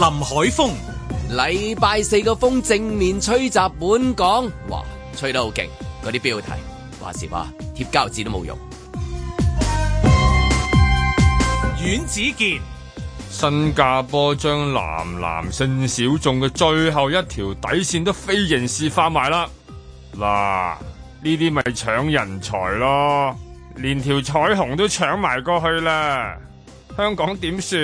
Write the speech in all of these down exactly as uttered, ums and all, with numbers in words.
海峰， 禮拜四個風正面吹襲本港，哇，吹得好勁，嗰啲標題話時話貼膠紙都冇用。 阮子健， 新加坡將男男性小眾嘅最後一條底線都非刑事化埋啦，嗱，呢啲咪搶人才咯，連條彩虹都搶埋過去啦，香港點算？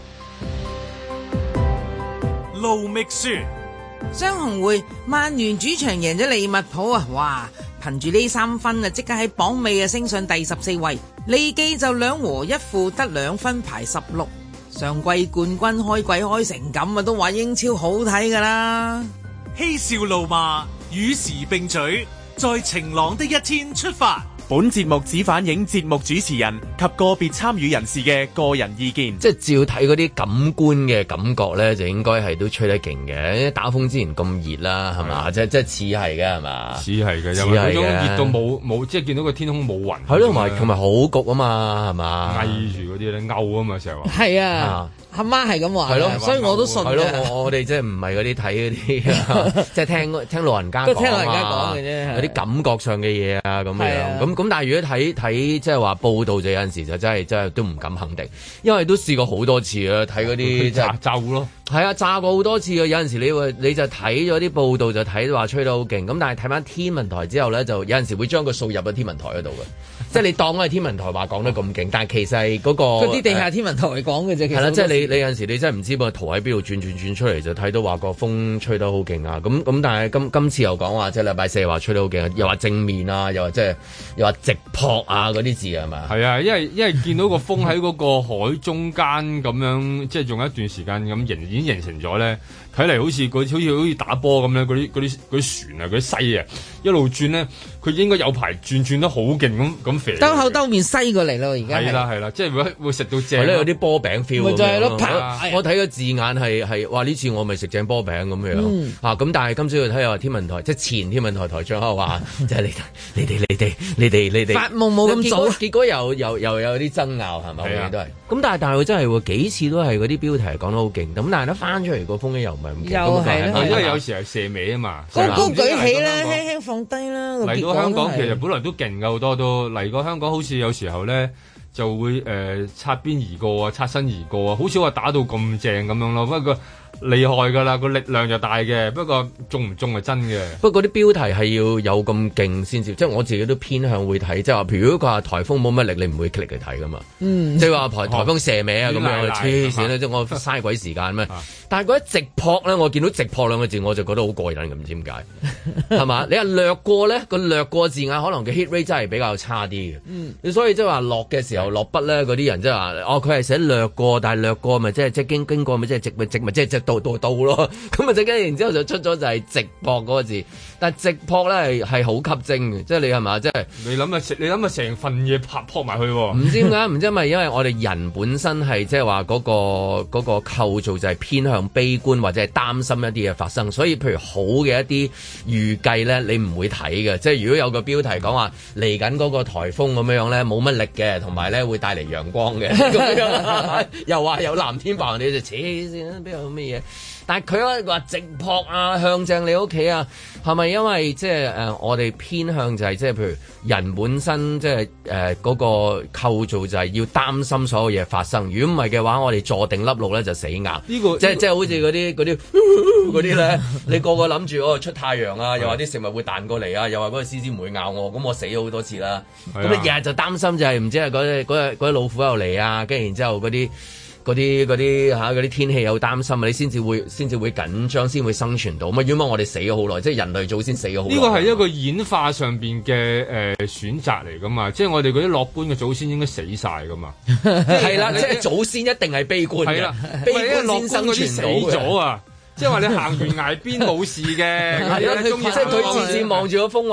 盧覓雪， 雙紅會曼聯主場贏咗利物浦啊！哇，憑住呢三分啊，即刻喺榜尾啊升上第十四位。利記就兩和一負得兩分排十六。上季冠軍開季開成咁啊，都話英超好睇噶啦。 嬉笑怒罵與時並舉，在晴朗的一天出發。 本節目只反映節目主持人及個別參與人士嘅個人意見。 即係照睇嗰啲感官嘅感覺咧，就應該係都吹得勁嘅。打風之前咁熱啦，係嘛？即即係似係嘅係嘛？ 似係嘅，因為嗰種熱到冇冇，即係見到個天空冇雲。 係咯，同埋同埋好焗啊嘛，係嘛？ 翳住嗰啲咧，勾啊嘛，成日話。 係啊。阿媽係咁話，係咯，所以我都信嘅。 係咯，我我哋即係唔係嗰啲睇嗰啲，即係聽聽老人家講啊， 聽老人家講嘅啫， 有啲感覺上嘅嘢啊咁樣。咁咁，但係如果睇睇即係話報道，就有陣時就真係真係都唔敢肯定，因為都試過好多次啊，睇嗰啲即係炸咯。係啊，炸過好多次啊！有陣時你會你就睇咗啲報道就睇話吹得好勁，咁但係睇翻天文台之後咧，就有陣時會將個數入咗天文台嗰度嘅，即係你當係天文台話講得咁勁，但係其實係嗰個嗰啲地下天文台講嘅啫。係啦， 即係你你有陣時你真係唔知個圖喺邊度轉轉轉出嚟，就睇到話個風吹得好勁啊！咁咁但係今今次又講話即係禮拜四話吹得好勁，又話正面啊，又話即係又話直撲啊嗰啲字係咪？ 係啊，因為因為見到個風喺嗰個海中間咁樣，即係用一段時間咁形已經形成咗咧。睇嚟好似好似好似打波咁咧，嗰啲嗰啲嗰啲船啊，嗰啲西啊，一路轉咧，佢應該有排轉轉得好勁咁咁肥。 兜口兜面西過嚟咯，而家係啦係啦，即係會會食到正。 係咧，有啲波餅 feel。 咪就係咯， 我睇個字眼係係話呢次我咪食正波餅咁樣嚇，咁但係今朝要睇下天文台，即係前天文台台長話，即係你你哋你哋你哋你哋發夢冇咁早， 結果又又又有啲爭拗係咪？係啊，都係。咁但係但係佢真係喎，幾次都係嗰啲標題講得好勁，咁但係一翻出嚟個風咧又唔係咁勁。 又係因為有時係射尾啊嘛， 高高舉起啦，輕輕放低啦。 嚟到香港其實本來都勁㗎好多都嚟過香港，好似有時候咧就會誒、呃、擦邊而過啊，擦身而過啊，好少話打到咁正咁樣咯。不過厲害㗎啦，個力量就大嘅，不過中唔中係真嘅。 不過嗰啲標題係要有咁勁先至，即係我自己都偏向會睇，即係話譬如果佢話颱風冇乜力，你唔會 click 嚟睇㗎嘛。嗯，即係話颱颱風射尾啊咁樣，黐線啦！即係我嘥鬼時間咩？但係嗰啲直撲咧，我見到直撲兩個字我就覺得好過癮嘅，唔知點解係嘛？你話掠過咧，個掠過字眼可能嘅 hit rate 真係比較差啲嘅。嗯，所以即係話落嘅時候落筆咧，嗰啲人即係話哦，佢係寫掠過，但係掠過咪即係即係經經過咪即係直咪直咪即係直到到到咯。咁啊，即係然之後就出咗就係直撲嗰個字，但係直撲咧係係好吸睛嘅，即係你係嘛？即係你諗下，你諗下成份嘢拍撲埋去喎。 唔知點解？唔知係咪因為我哋人本身係即係話嗰個嗰個構造就係偏向悲觀或者係擔心一啲嘢發生，所以譬如好嘅一啲預計咧，你唔會睇嘅。即係如果有個標題講話嚟緊嗰個颱風咁樣咧，冇乜力嘅，同埋咧會帶嚟陽光嘅，咁樣又話有藍天白雲，你就扯線啦，邊有咩嘢？但係佢話直撲啊，向正你屋企啊，係咪因為即係誒我哋偏向就係即係譬如人本身即係誒嗰個構造就係要擔心所有嘢發生，如果唔係嘅話，我哋坐定粒路咧就死硬。呢、這個即係即係好似嗰啲嗰啲嗰啲咧，你個個諗住哦出太陽啊，又話啲食物會彈過嚟啊，又話嗰個獅子唔會咬我，咁我死咗好多次啦。咁你日日就擔心就係唔知係嗰隻嗰隻嗰隻老虎又嚟啊，跟住然之後嗰啲。嗰啲嗰啲嚇嗰啲天氣有擔心啊，你先至會先至會緊張，先會生存到。咁啊，如果我哋死咗好耐，即係人類祖先死咗好耐。 呢個係一個演化上邊嘅誒選擇嚟噶嘛，即係我哋嗰啲樂觀嘅祖先應該死晒噶嘛。 係啦，即係祖先一定係悲觀嘅。係啦，悲觀先生存死咗啊！即係話你行完崖邊冇事嘅， 係啦，即係佢次次望住個風話。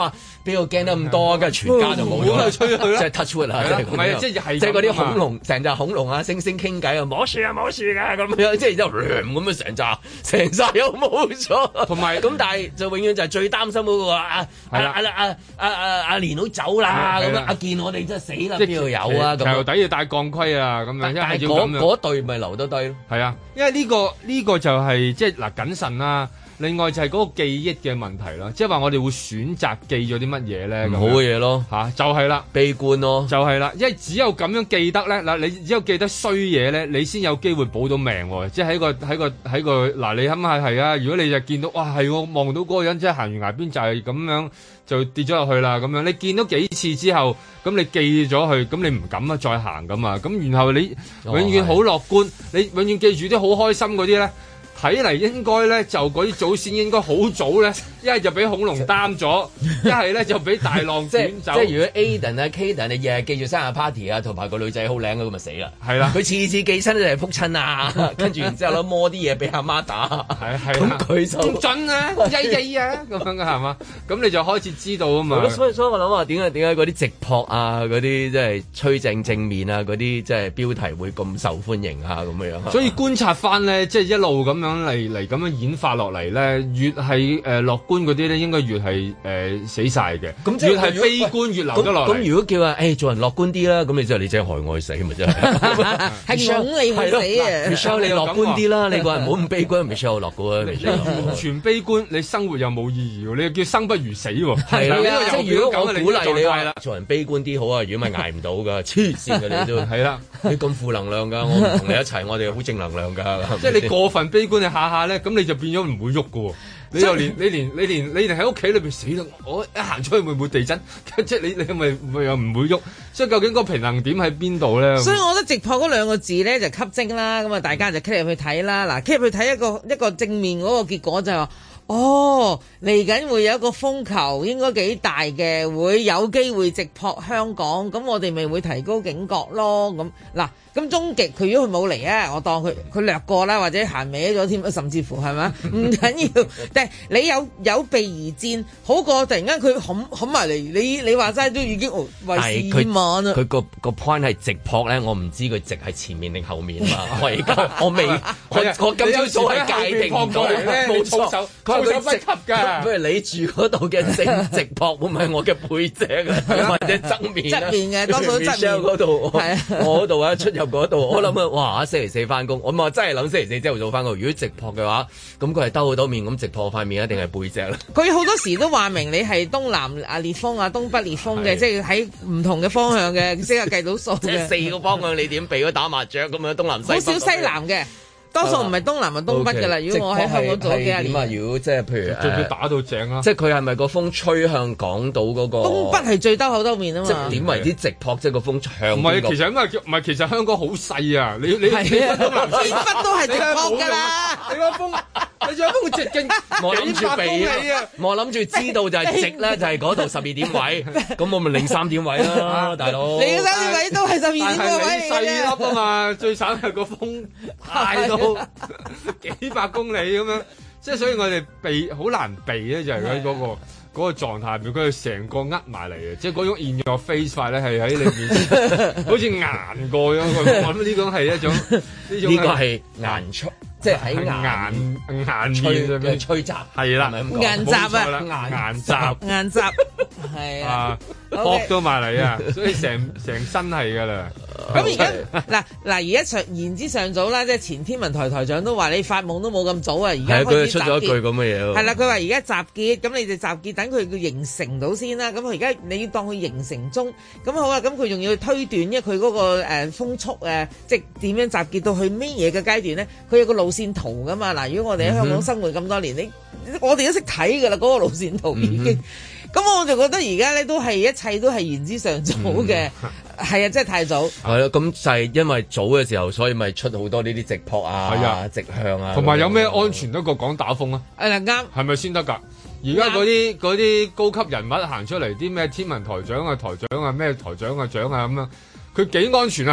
邊個驚得咁多？跟住全家就冇咗， 吹佢啦， 即係 touch wood 啊！ 唔係啊，即係即係嗰啲恐龍，成隻恐龍啊，猩猩傾偈啊，冇事啊，冇事㗎咁樣，即係之後咁樣成扎成紮又冇咗， 同埋咁但係就永遠就係最擔心嗰個啊啊啊啊啊啊阿連佬走啦咁樣，阿健我哋真係死啦，邊度有啊？咁頭底要戴鋼盔啊咁樣， 但係嗰嗰隊咪留得低咯。 係啊，因為呢個呢個就係即係嗱謹慎啦。另外就係嗰個記憶嘅問題啦，即係話我哋會選擇記咗啲乜嘢咧？ 唔好嘅嘢咯， 嚇就係啦， 悲觀咯， 就係啦，因為只有咁樣記得咧，嗱你只有記得衰嘢咧，你先有機會保到命喎。即係喺個喺個喺個嗱，你諗下係啊，如果你就見到哇係我望到嗰個人即係行完崖邊就係咁樣就跌咗落去啦咁樣，你見到幾次之後，咁你記咗佢，咁你唔敢啊再行噶嘛，咁然後你永遠好樂觀，哦、你永遠記住啲好開心嗰啲咧。睇嚟應該咧，就嗰啲祖先應該好早咧，一係就俾恐龍擔咗，一係咧就俾大浪捲走。 即係如果 Aden 啊 Kaden 你日日記住生日 party 啊，同埋個女仔好靚咁咪死啦。係啦，佢次次記親都係撲親啊，跟住然之後攞摸啲嘢俾阿媽打。係係咁佢就唔準啊，曳曳啊咁樣嘅係嘛？咁你就開始知道啊嘛。 所以所以我諗話點解點解嗰啲直撲啊，嗰啲即係吹正正面啊，嗰啲即係標題會咁受歡迎啊咁樣。 所以觀察翻咧，即係一路咁樣。嚟嚟咁樣演化落嚟咧，越係誒樂觀嗰啲咧，應該越係誒、呃、死晒嘅。咁越係悲觀越留得落嚟。 咁如果叫話誒、欸、做人樂觀啲啦，咁你即係你真係害我死咪真係。 係想你去死啊 Michelle 你樂觀啲啦，你個人唔好咁悲觀 Michelle 樂觀啊。 你完全悲觀，你生活又冇意義喎，你叫生不如死喎。 係啦，即係如果我鼓勵你話做人悲觀啲好啊，如果咪捱唔到㗎，黐線嘅你都係啦， 你咁負能量㗎，我唔同你一齊，我哋好正能量㗎。 即係你過分悲觀，你下下咧，咁你就變咗唔會喐㗎喎。你又連你連你連你連喺屋企裏邊死啦！我一行出去會唔會地震？即係你你係咪又唔會喐？所以究竟個平衡點喺邊度咧？ 所以我覺得直撲嗰兩個字咧就吸睛啦。咁啊，大家就 click 入去睇啦。嗱 click 入去睇一個一個正面嗰個結果就係話。哦，嚟緊會有一個風球，應該幾大嘅，會有機會直撲香港，咁我哋咪會提高警覺咯。咁嗱，咁終極佢如果佢冇嚟啊，我當佢佢掠過啦，或者行歪咗添，甚至乎係咪？唔緊要，但係你有有備而戰，好過突然間佢冚冚埋嚟，你你話齋都已經為時已晚啦。 佢個個 point 係直撲咧，我唔知佢直係前面定後面嘛。我而家我未，我我今朝早係界定唔到咧，冇錯。手不及㗎，不如你住嗰度嘅正直撲會唔係我嘅背脊啊，或者側面側面嘅多數側面嗰度，我嗰度啊出入嗰度，我諗啊，哇！星期四翻工，我咪真係諗星期四朝頭早翻工。如果直撲嘅話，咁佢係兜好多面咁直撲塊面，一定係背脊啦。 佢好多時都話明你係東南啊烈風啊，東北烈風嘅，即係喺唔同嘅方向嘅，即係計到數嘅。 即係四個方向，你點避咗打麻雀咁樣東南西北？ 好少西南嘅。多數唔係東南，係東北㗎啦。如果我喺香港做幾廿年， 點啊？如果即係譬如仲要打到正啦， 即係佢係咪個風吹向港島嗰個？ 東北係最兜口兜面啊嘛。 即係點為之直撲？即係個風向？ 唔係，其實因為唔係，其實香港好細啊！你你你東南西北都係直撲㗎啦。 你個風，你仲有風直徑我諗住避啊！我諗住知道就係直咧，就係嗰度十二點位。咁我咪零三點位啦，大佬。 你嘅三點位都係十二點位嚟嘅。 細粒啊嘛，最慘係個風大到幾百公里咁樣，即係所以我哋避好難避咧，就係喺嗰個嗰、嗰個狀態入面，佢係成個呃埋嚟嘅，即係嗰種 in your face 法咧，係喺你面前，好似硬過咗。我諗呢種係一種呢種呢個係硬出。即係喺硬硬吹面嘅吹閘係啦， 硬閘啊， 硬閘硬閘係啊， 撲到埋嚟啊，所以成成身係㗎啦。 咁而家嗱嗱而家上言之尚早啦，即係前天文台台長都話你發夢都冇咁早啊，而家開始集結。係佢出咗一句咁嘅嘢。係啦，佢話而家集結，咁你哋集結等佢佢形成到先啦。咁佢而家你要當佢形成中，咁好啦。咁佢仲要推斷，因為佢嗰個誒風速誒，即係點樣集結到去咩嘢嘅階段咧？佢有個路線圖噶嘛。嗱，如果我哋喺香港生活咁多年，你我哋都識睇噶啦，嗰個路線圖已經。咁我就覺得而家咧都係一切都係言之尚早嘅，係啊，真係太早。係咯，咁就係因為早嘅時候，所以咪出好多呢啲直撲啊、係啊、直向啊。 同埋有咩安全得過講打風啊？ 誒啱， 係咪先得㗎？而家嗰啲嗰啲高級人物行出嚟，啲咩天文台長啊、台長啊、咩台長啊、長啊咁樣，佢幾安全啊？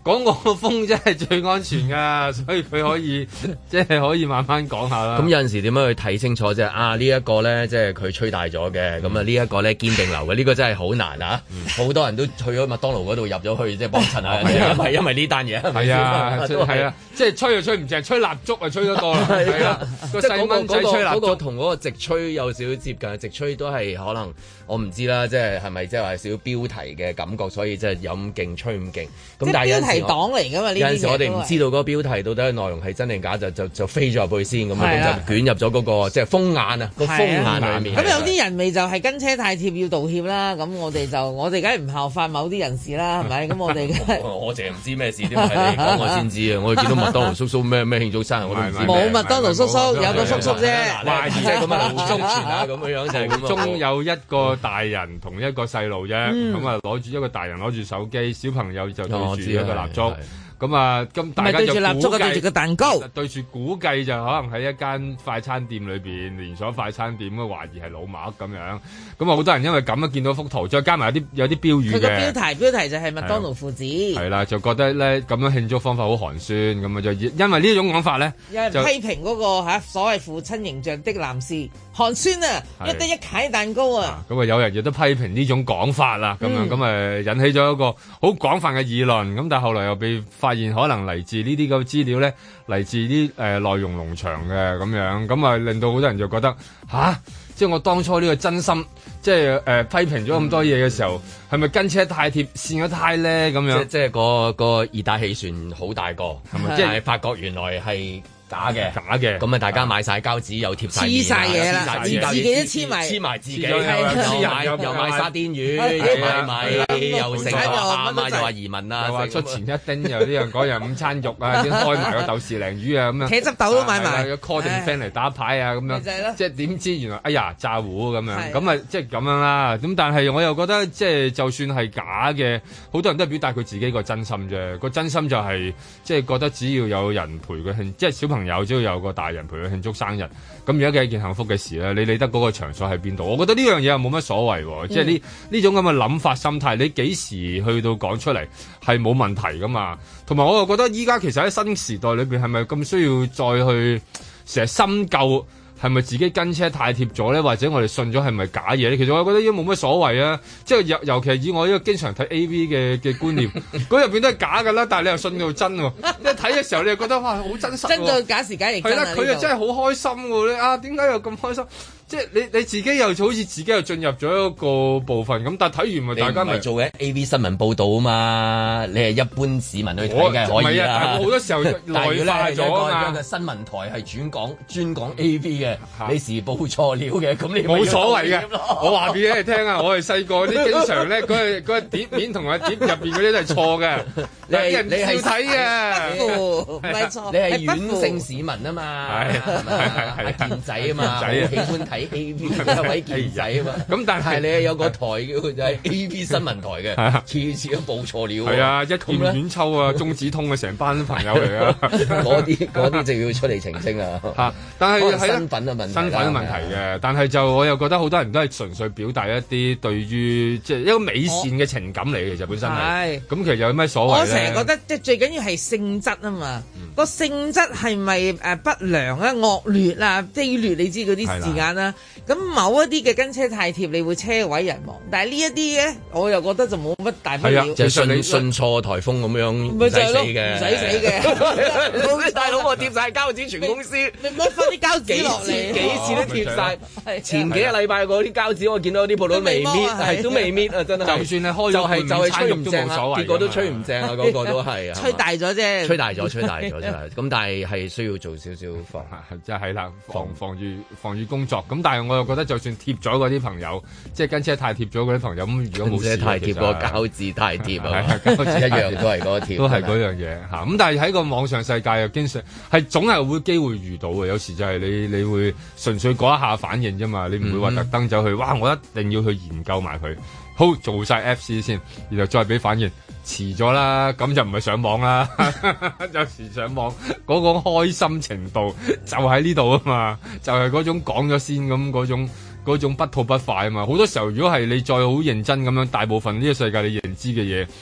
講我個風真係最安全㗎，所以佢可以即係可以慢慢講下啦。 咁有陣時點樣去睇清楚啫？啊呢一個咧，即係佢吹大咗嘅，咁啊呢一個咧堅定流嘅，呢個真係好難啊！好多人都去咗麥當勞嗰度入咗去，即係幫襯下，係咪因為呢單嘢？ 係啊，係啊，即係吹就吹唔正，吹蠟燭啊吹得多啦。係啊，個細蚊仔吹蠟燭同嗰個直吹有少少接近，直吹都係可能我唔知啦，即係係咪即係話少少標題嘅感覺，所以即係有咁勁吹咁勁。咁但係有陣時黨嚟㗎嘛？ 有陣時我哋唔知道嗰個標題到底內容係真定假，就就就飛咗入去先咁樣，就捲入咗嗰個即係風眼啊，個風眼裡面。 咁有啲人咪就係跟車太貼要道歉啦。咁我哋就我哋梗係唔效法某啲人士啦，係咪？咁我哋我淨係唔知咩事，點解你講我先知啊？我哋見到麥當勞叔叔咩咩慶祝生日，我都唔知。 冇麥當勞叔叔，有個叔叔啫。 懷疑即係咁啊，中傳啊咁樣樣就係咁。 中有一個大人同一個細路啫，咁啊攞住一個大人攞住手機，小朋友就對住一個蠟燭。咁啊，咁大家就估計對住蠟燭啊，對住個蛋糕，對住估計就可能喺一間快餐店裏邊，連鎖快餐店，咁懷疑係老麥咁樣。咁啊，好多人因為咁啊，見到幅圖，再加埋有啲有啲標語嘅。佢個標題標題就係麥當勞父子。係啦，就覺得咧咁樣慶祝方法好寒酸，咁啊就因為呢種講法咧，有人批評嗰個嚇所謂父親形象的男士寒酸啊，一得一契蛋糕啊。咁啊，有人亦都批評呢種講法啦，咁樣咁啊引起咗一個好廣泛嘅議論。咁但係後來又被發現可能嚟自呢啲咁嘅資料咧，嚟自啲誒內容農場嘅咁樣，咁啊令到好多人就覺得吓，即係我當初呢個真心，即係誒、呃、批評咗咁多嘢嘅時候，係咪、嗯、跟車太貼，跣咗胎咧咁樣？即即係個個熱帶氣旋好大個，係咪？即係發覺原來係假嘅，假嘅，咁啊大家買晒膠紙又貼晒黐晒嘢啦，自己都黐埋黐埋自己，又買又買沙甸魚，又買米，又成啊嘛，又話移民啊，又話出前一丁，又呢樣嗰樣午餐肉啊，先開埋個豆豉鯪魚啊咁樣，茄汁豆都買埋，call 定 friend 嚟打牌啊咁樣，即係點知原來哎呀炸糊咁樣，咁啊即係咁樣啦。咁但係我又覺得即係就算係假嘅，好多人都係表達佢自己個真心啫。個真心就係即係覺得只要有人陪佢慶，即係小朋友。朋友只要有個大人陪佢慶祝生日，咁而家嘅一件幸福嘅事咧，你理得嗰個場所喺邊度？我覺得呢樣嘢又冇乜所謂，嗯、即係呢呢種咁嘅諗法心態，你幾時去到講出嚟係冇問題噶嘛？同埋我又覺得依家其實喺新時代裏邊，係咪咁需要再去成日深究？係咪自己跟車太貼咗咧？或者我哋信咗係咪假嘢咧？其實我覺得已經冇乜所謂啊！即係尤尤其係以我呢個經常睇 A V 嘅嘅觀念，嗰入邊都係假㗎啦，但係你又信到真喎！一睇嘅時候你又覺得哇，好真實喎！真到假時假亦真係啦，佢又真係好開心喎！你啊，點解又咁開心？即係你你自己又好似自己又進入咗一個部分咁，但係睇完咪大家咪做嘅 A V 新聞報導啊嘛！你係一般市民去睇嘅可以啦。好多時候內化咗啊嘛！新聞台係轉講專講 A V 嘅，你時報錯料嘅，咁你冇所謂嘅。我話俾你聽啊，我係細個啲經常咧，嗰個嗰個碟面同埋碟入邊嗰啲都係錯嘅。你係你係睇嘅，唔係錯。你係軟性市民啊嘛，係係係健仔啊嘛，好喜歡睇。A V 一位健仔啊嘛，咁但係你有個台叫就係 A V 新聞台嘅，次次都報錯料。係啊，一劍遠秋啊，中指通啊，成班朋友嚟啊，嗰啲嗰啲就要出嚟澄清啊。嚇，但係係身份嘅問題，身份嘅問題嘅。但係就我又覺得好多人都係純粹表達一啲對於即係一個美善嘅情感嚟嘅，其實本身係。咁其實有咩所謂咧？我成日覺得即係最緊要係性質啊嘛，個性質係咪誒不良啊、惡劣啊、卑劣？你知嗰啲字眼啦。咁某一啲嘅跟車太貼，你會車毀人亡。但係呢一啲咧，我又覺得就冇乜大不了。係啊，就順順錯颱風咁樣，唔使死嘅，唔使死嘅。大佬我貼晒膠紙，全公司你乜翻啲膠紙落嚟？幾次都貼晒。前幾個禮拜嗰啲膠紙，我見到啲鋪都未搣，係都未搣啊！真係。就算你開咗半就係吹唔正啊，結果都吹唔正啊！嗰個都係啊。吹大咗啫。吹大咗，吹大咗真係。咁但係係需要做少少防，即係啦，防防住防住工作。咁但係我又覺得，就算貼咗嗰啲朋友，即係跟車太貼咗嗰啲朋友，咁如果冇事，太貼個膠紙太貼啊，膠紙一樣都係嗰個貼，都係嗰樣嘢嚇。咁但係喺個網上世界又經常係總係會機會遇到嘅，有時就係你你會純粹嗰一下反應啫嘛，你唔會話特登走去，哇！我一定要去研究埋佢，好做晒 F C 先，然後再俾反應。遲咗啦，咁就唔係上網啦。有時上網嗰個開心程度就喺呢度啊嘛，就係、是、嗰種講咗先咁嗰種嗰種不吐不快啊嘛。好多時候如果係你再好認真咁樣，大部分呢個世界你認知嘅嘢，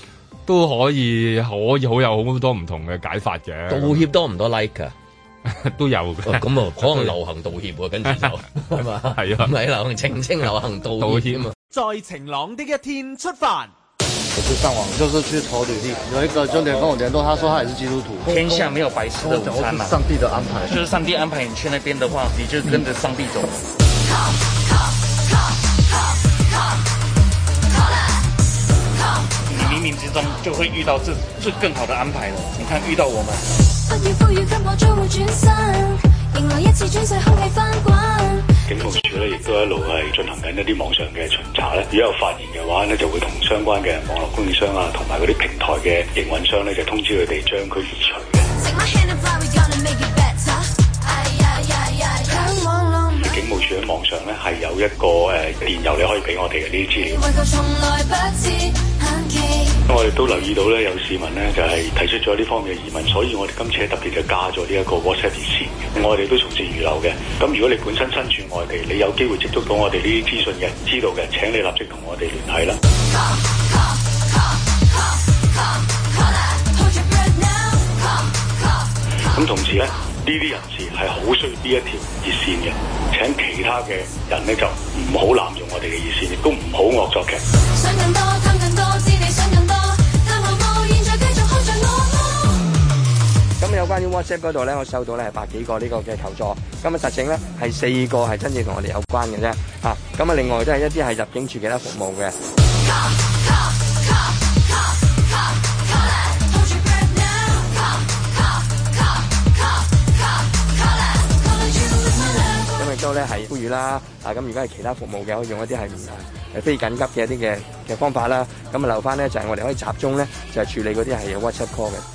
都可以可以好有好多唔同嘅解法嘅。 道歉多唔多 like 啊？ 都有嘅。 咁啊，可能流行道歉喎，跟住就係嘛，係啊，唔係流行澄清，流行道歉啊。 在晴朗的一天出發。 我就上網，就是去投履歷，有一個就連跟我聯絡，他說他也是基督徒。 天下沒有白吃的午餐嘛， 上帝的安排， 就是上帝安排你去那邊的話，你就跟着上帝走。你冥冥之中就會遇到這這更好的安排了。你看遇到我們。不要賦予給我將會轉身，迎來一次轉世空氣翻滾。 警務處咧，亦都一路係進行緊一啲網上嘅巡查咧。如果有發現嘅話咧，就會同相關嘅網絡供應商啊，同埋嗰啲平台嘅營運商咧，就通知佢哋將佢移除嘅。警務處喺網上咧係有一個誒、呃、電郵，你可以俾我哋嘅呢啲資料。我哋都留意到咧，有市民咧就係、是、提出咗呢方面嘅疑問，所以我哋今次特別就加咗呢一個 WhatsApp 熱線嘅。我哋都從善如流嘅。咁如果你本身身處外地，你有機會接觸到我哋呢啲資訊嘅，知道嘅，請你立即同我哋聯繫啦。咁同時咧，呢啲人士係好需要呢一條熱線嘅。請其他嘅人咧就唔好濫用我哋嘅熱線，亦都唔好惡作劇。 咁有關於 WhatsApp 嗰度咧，我收到咧係百幾個呢個嘅求助，咁啊實情咧係四個係真正同我哋有關嘅啫，啊咁啊另外都係一啲係入境處其他服務嘅。咁亦都咧係呼籲啦，啊咁如果係其他服務嘅，可以用一啲係誒非緊急嘅一啲嘅嘅方法啦，咁啊留翻咧就係我哋可以集中咧就係處理嗰啲係有 WhatsApp call 嘅。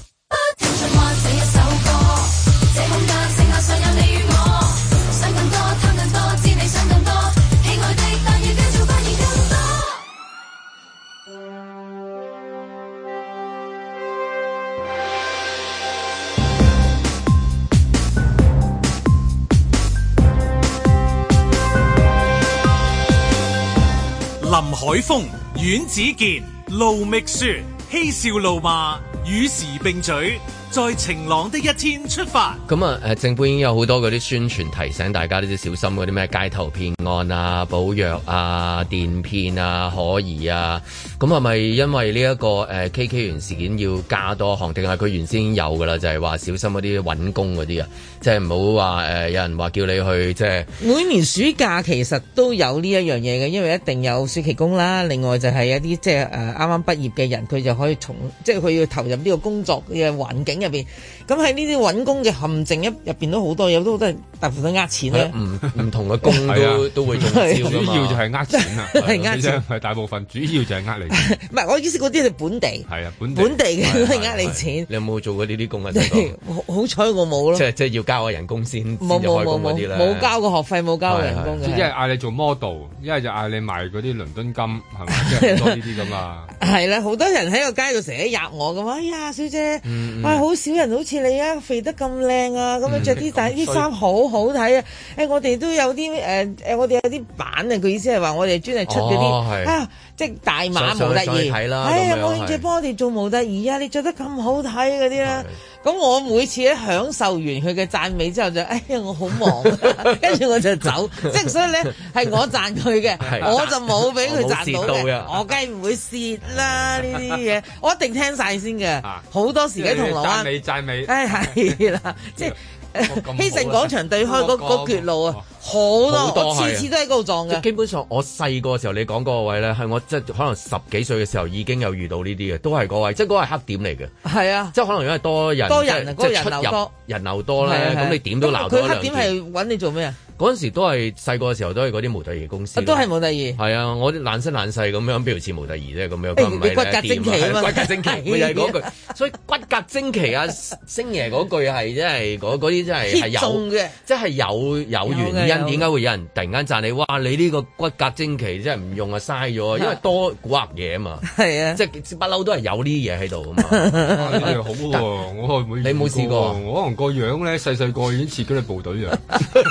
林海峰、阮子健、盧覓雪，嬉笑怒罵，與時並舉，在晴朗的一天出發。 咁啊，誒政府已經有好多嗰啲宣傳提醒大家呢啲小心嗰啲咩街頭騙案啊、保藥啊、電騙啊、可疑啊。咁係咪因為呢一個誒 K K 園事件要加多項，定係佢原先已經有㗎啦？就係、是、話小心嗰啲揾工嗰啲啊，即係唔好話誒有人話叫你去即係。 每年暑假其實都有呢一樣嘢嘅，因為一定有暑期工啦。另外就係一啲即係誒啱啱畢業嘅人，佢就可以從即係佢要投入呢個工作嘅環境入邊。咁喺呢啲揾工嘅陷阱一入邊都好多，有都都係大部分都呃錢咧。唔唔同嘅工都都會中招㗎嘛。 主要就係呃錢啊， 係呃錢， 係大部分主要就係呃你。 唔係，我意思嗰啲係本地， 係啊，本地本地嘅都係呃你錢。 你有冇做過呢啲工啊？ 好好彩我冇咯。 即係即係要交個人工先， 冇冇冇冇冇交過學費，冇交過人工嘅。 一係嗌你做 model，一係就嗌你賣嗰啲倫敦金，係咪？即係好多呢啲咁啊。 係啦，好多人喺個街度成日壓我咁，哎呀，小姐，哇，好少人好似你啊，肥得咁靚啊，咁樣着啲大啲衫好好睇啊！誒，我哋都有啲誒誒，我哋有啲版啊，佢意思係話我哋專係出嗰啲啊，即係大碼模特兒，係啊，冇興趣幫我哋做模特兒啊！你着得咁好睇嗰啲啦。咁我每次咧享受完佢嘅讚美之後就，哎呀我好忙，跟住我就走，即係所以咧係我讚佢嘅，我就冇俾佢賺到嘅，我梗係唔會蝕啦呢啲嘢，我一定聽晒先嘅，好多時喺銅鑼灣讚美讚美， 哎係啦，即係希慎廣場對開嗰嗰橛路啊，好多，我次次都喺嗰度撞嘅。 基本上我細個時候你講嗰個位咧，係我即係可能十幾歲嘅時候已經有遇到呢啲嘅，都係嗰位，即係嗰個係黑點嚟嘅。 係啊， 即係可能因為多人， 多人啊，嗰個人流多， 人流多咧，咁你點都鬧到一兩。佢黑點係揾你做咩啊？ 嗰陣時都係細個嘅時候都係嗰啲模特兒公司， 都係模特兒。 係啊，我啲爛身爛世咁樣，邊度似模特兒啫咁樣？ 你骨骼精奇啊嘛， 骨骼精奇，咪就係嗰句。所以骨骼精奇啊，星爺嗰句係真係嗰嗰啲真係係有嘅，即係有有原因點解會有人突然間讚你？哇！你呢個骨骼精奇真係唔用啊，嘥咗，因為多古惑嘢啊嘛。係啊，即係不嬲都係有呢啲嘢喺度啊嘛。 呢啲好喎，我冇你冇試過， 我可能個樣咧細細個已經似嗰啲部隊啊。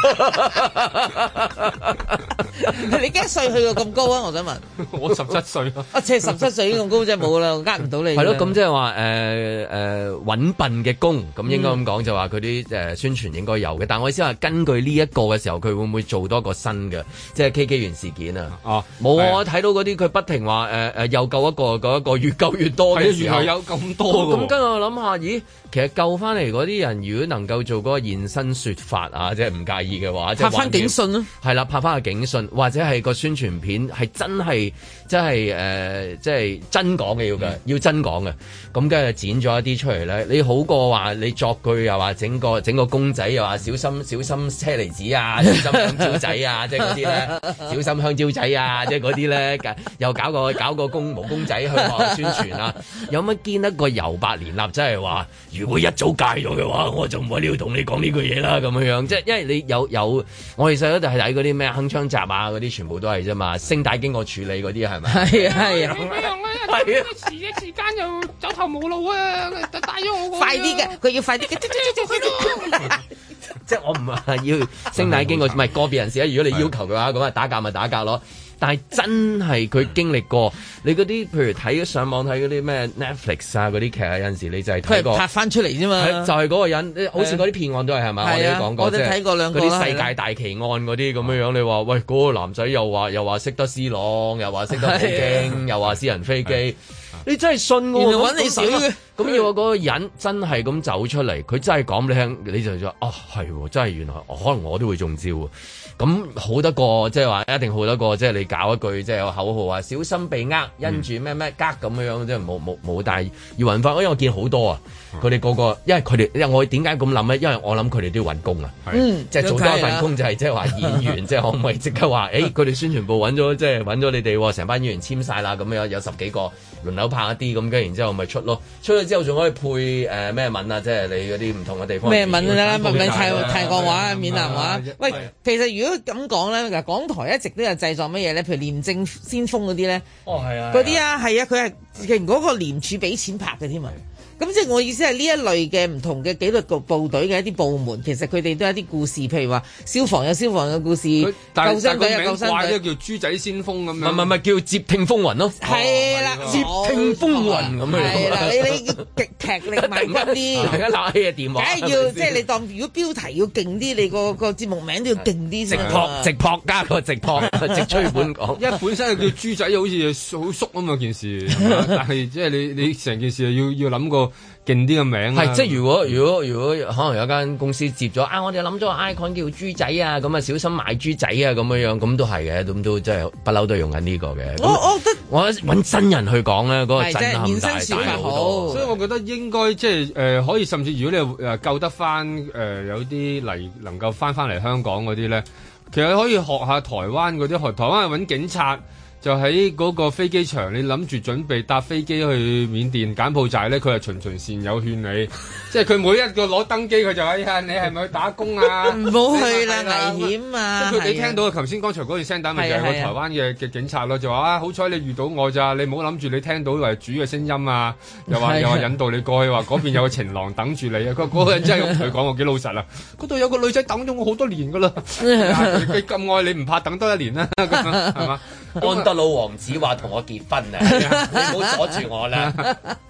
你幾歲去到咁高啊？我想問。 我十七歲咯。 啊，即係十七歲已經咁高，真係冇啦，呃唔到你。 係咯，咁即係話誒誒揾笨嘅工，咁應該咁講就話佢啲誒宣傳應該有嘅。但我意思話根據呢一個嘅時候，佢會唔會做多個新嘅，即係 K K 園事件啊？哦，冇啊！睇到嗰啲佢不停話誒誒又救一個嗰一個越救越多嘅時候， 原來有咁多嘅。 咁跟住我諗下，咦？其實救翻嚟嗰啲人，如果能夠做嗰個現身說法啊，即係唔介意嘅話， 拍翻警訊咯， 係啦，拍翻個警訊，或者係個宣傳片係真係，即係誒，即係真講嘅要嘅，嗯、要真講嘅。咁跟住剪咗一啲出嚟咧，你好過話你作句又話整個整個公仔又話小心小心車厘子啊，小心香蕉仔啊，即係嗰啲咧，小心香蕉仔啊，即係嗰啲咧，又搞個搞個公毛公仔去話宣傳啊，有乜見得個尤伯連立真係話？如果一早戒咗嘅話，我就唔喺呢度同你講呢句嘢啦，咁樣樣，即係因為你有有，我哋細個就係睇嗰啲咩鏗鏘集啊，嗰啲全部都係啫嘛，聲帶經過處理嗰啲係咪？係啊係啊，點樣咧？係啊，時一時間又走投無路啊，帶咗我。快啲嘅，佢要快啲嘅，即係我唔係要聲帶經過，唔係個別人士啊。如果你要求嘅話，咁啊打架咪打架咯。但係真係佢經歷過，你嗰啲譬如睇上網睇嗰啲咩 Netflix 啊嗰啲劇啊，有陣時你就係睇過拍翻出嚟啫嘛， 就係、是、嗰個人，好似嗰啲騙案都係係咪？我哋都講過， 我哋睇過兩個啦。 嗰啲世界大奇案嗰啲咁樣樣，你話喂嗰、嗰個男仔又話又話識得 C 朗，又話識得普京，又話私人飛機，你真係信喎？原來揾你死嘅。咁要我嗰個人真係咁走出嚟，佢真係講你聽，你就話啊係，真係原來可能我都會中招。咁好得過，即係話一定好得過，即係你搞一句即係有口號啊，小心被呃，因住咩咩格咁樣樣，即係冇冇冇，但係要揾翻，因為我見好多啊，佢哋個個，因為佢哋，因為我點解咁諗咧？因為我諗佢哋都要揾工啊，嗯，即係做多一份工就係即係話演員，即係可唔可以即刻話，誒，佢哋宣傳部揾咗，即係揾咗你哋成班演員簽晒啦，咁樣有十幾個輪流拍一啲咁，跟然之後咪出咯，出咗之後仲可以配誒咩文啊，即係你嗰啲唔同嘅地方咩文啦，唔係泰泰國話、閩南話，喂，其實如果咁講咧，嗱，港台一直都有製作乜嘢咧？譬如廉政先鋒嗰啲咧，哦係啊，嗰啲啊係啊，佢係其實嗰個廉署俾錢拍嘅添啊。咁即係我意思係呢一類嘅唔同嘅紀律部部隊嘅一啲部門，其實佢哋都有一啲故事，譬如話消防有消防嘅故事，救生隊有救生隊，叫豬仔先鋒咁樣，唔係唔係叫接聽風雲咯，係啦，接聽風雲咁樣，係啦，你你極劇力萬鈞啲，大家攞起個電話，梗係要即係你當如果標題要勁啲，你個個節目名都要勁啲，直撲直撲加個直撲直吹本講，因為本身係叫豬仔，好似好縮啊嘛件事，但係即係你你成件事要要諗個勁啲嘅名係，即係如果如果如果可能有間公司接咗啊，我哋諗咗個 icon 叫豬仔啊，咁啊小心買豬仔啊，咁樣樣咁都係嘅，咁都即係不嬲都用緊呢個嘅。我我覺得我揾真人去講咧，嗰個震撼大大好多。所以我覺得應該即係誒可以，甚至如果你誒救得翻誒、呃、有啲嚟能夠翻翻嚟香港嗰啲咧，其實可以學下台灣嗰啲，學台灣係揾警察。就喺嗰個飛機場，你諗住準備搭飛機去緬甸柬埔寨咧，佢係循循善誘勸你，即係佢每一個攞登機，佢就話：呀，你係咪去打工啊？唔好去啦，危險啊！即係佢你聽到頭先剛才嗰段聲帶，咪就係個台灣嘅嘅警察咯，就話啊，好彩你遇到我咋，你唔好諗住你聽到係主嘅聲音啊，又話又話引導你過去，話嗰邊有個情郎等住你啊！佢嗰個人真係咁同佢講，我幾老實啊！嗰度有個女仔等咗我好多年噶啦，佢咁愛你唔怕等多一年啦，咁樣係嘛？安德魯王子話同我結婚啊！你唔好阻住我啦！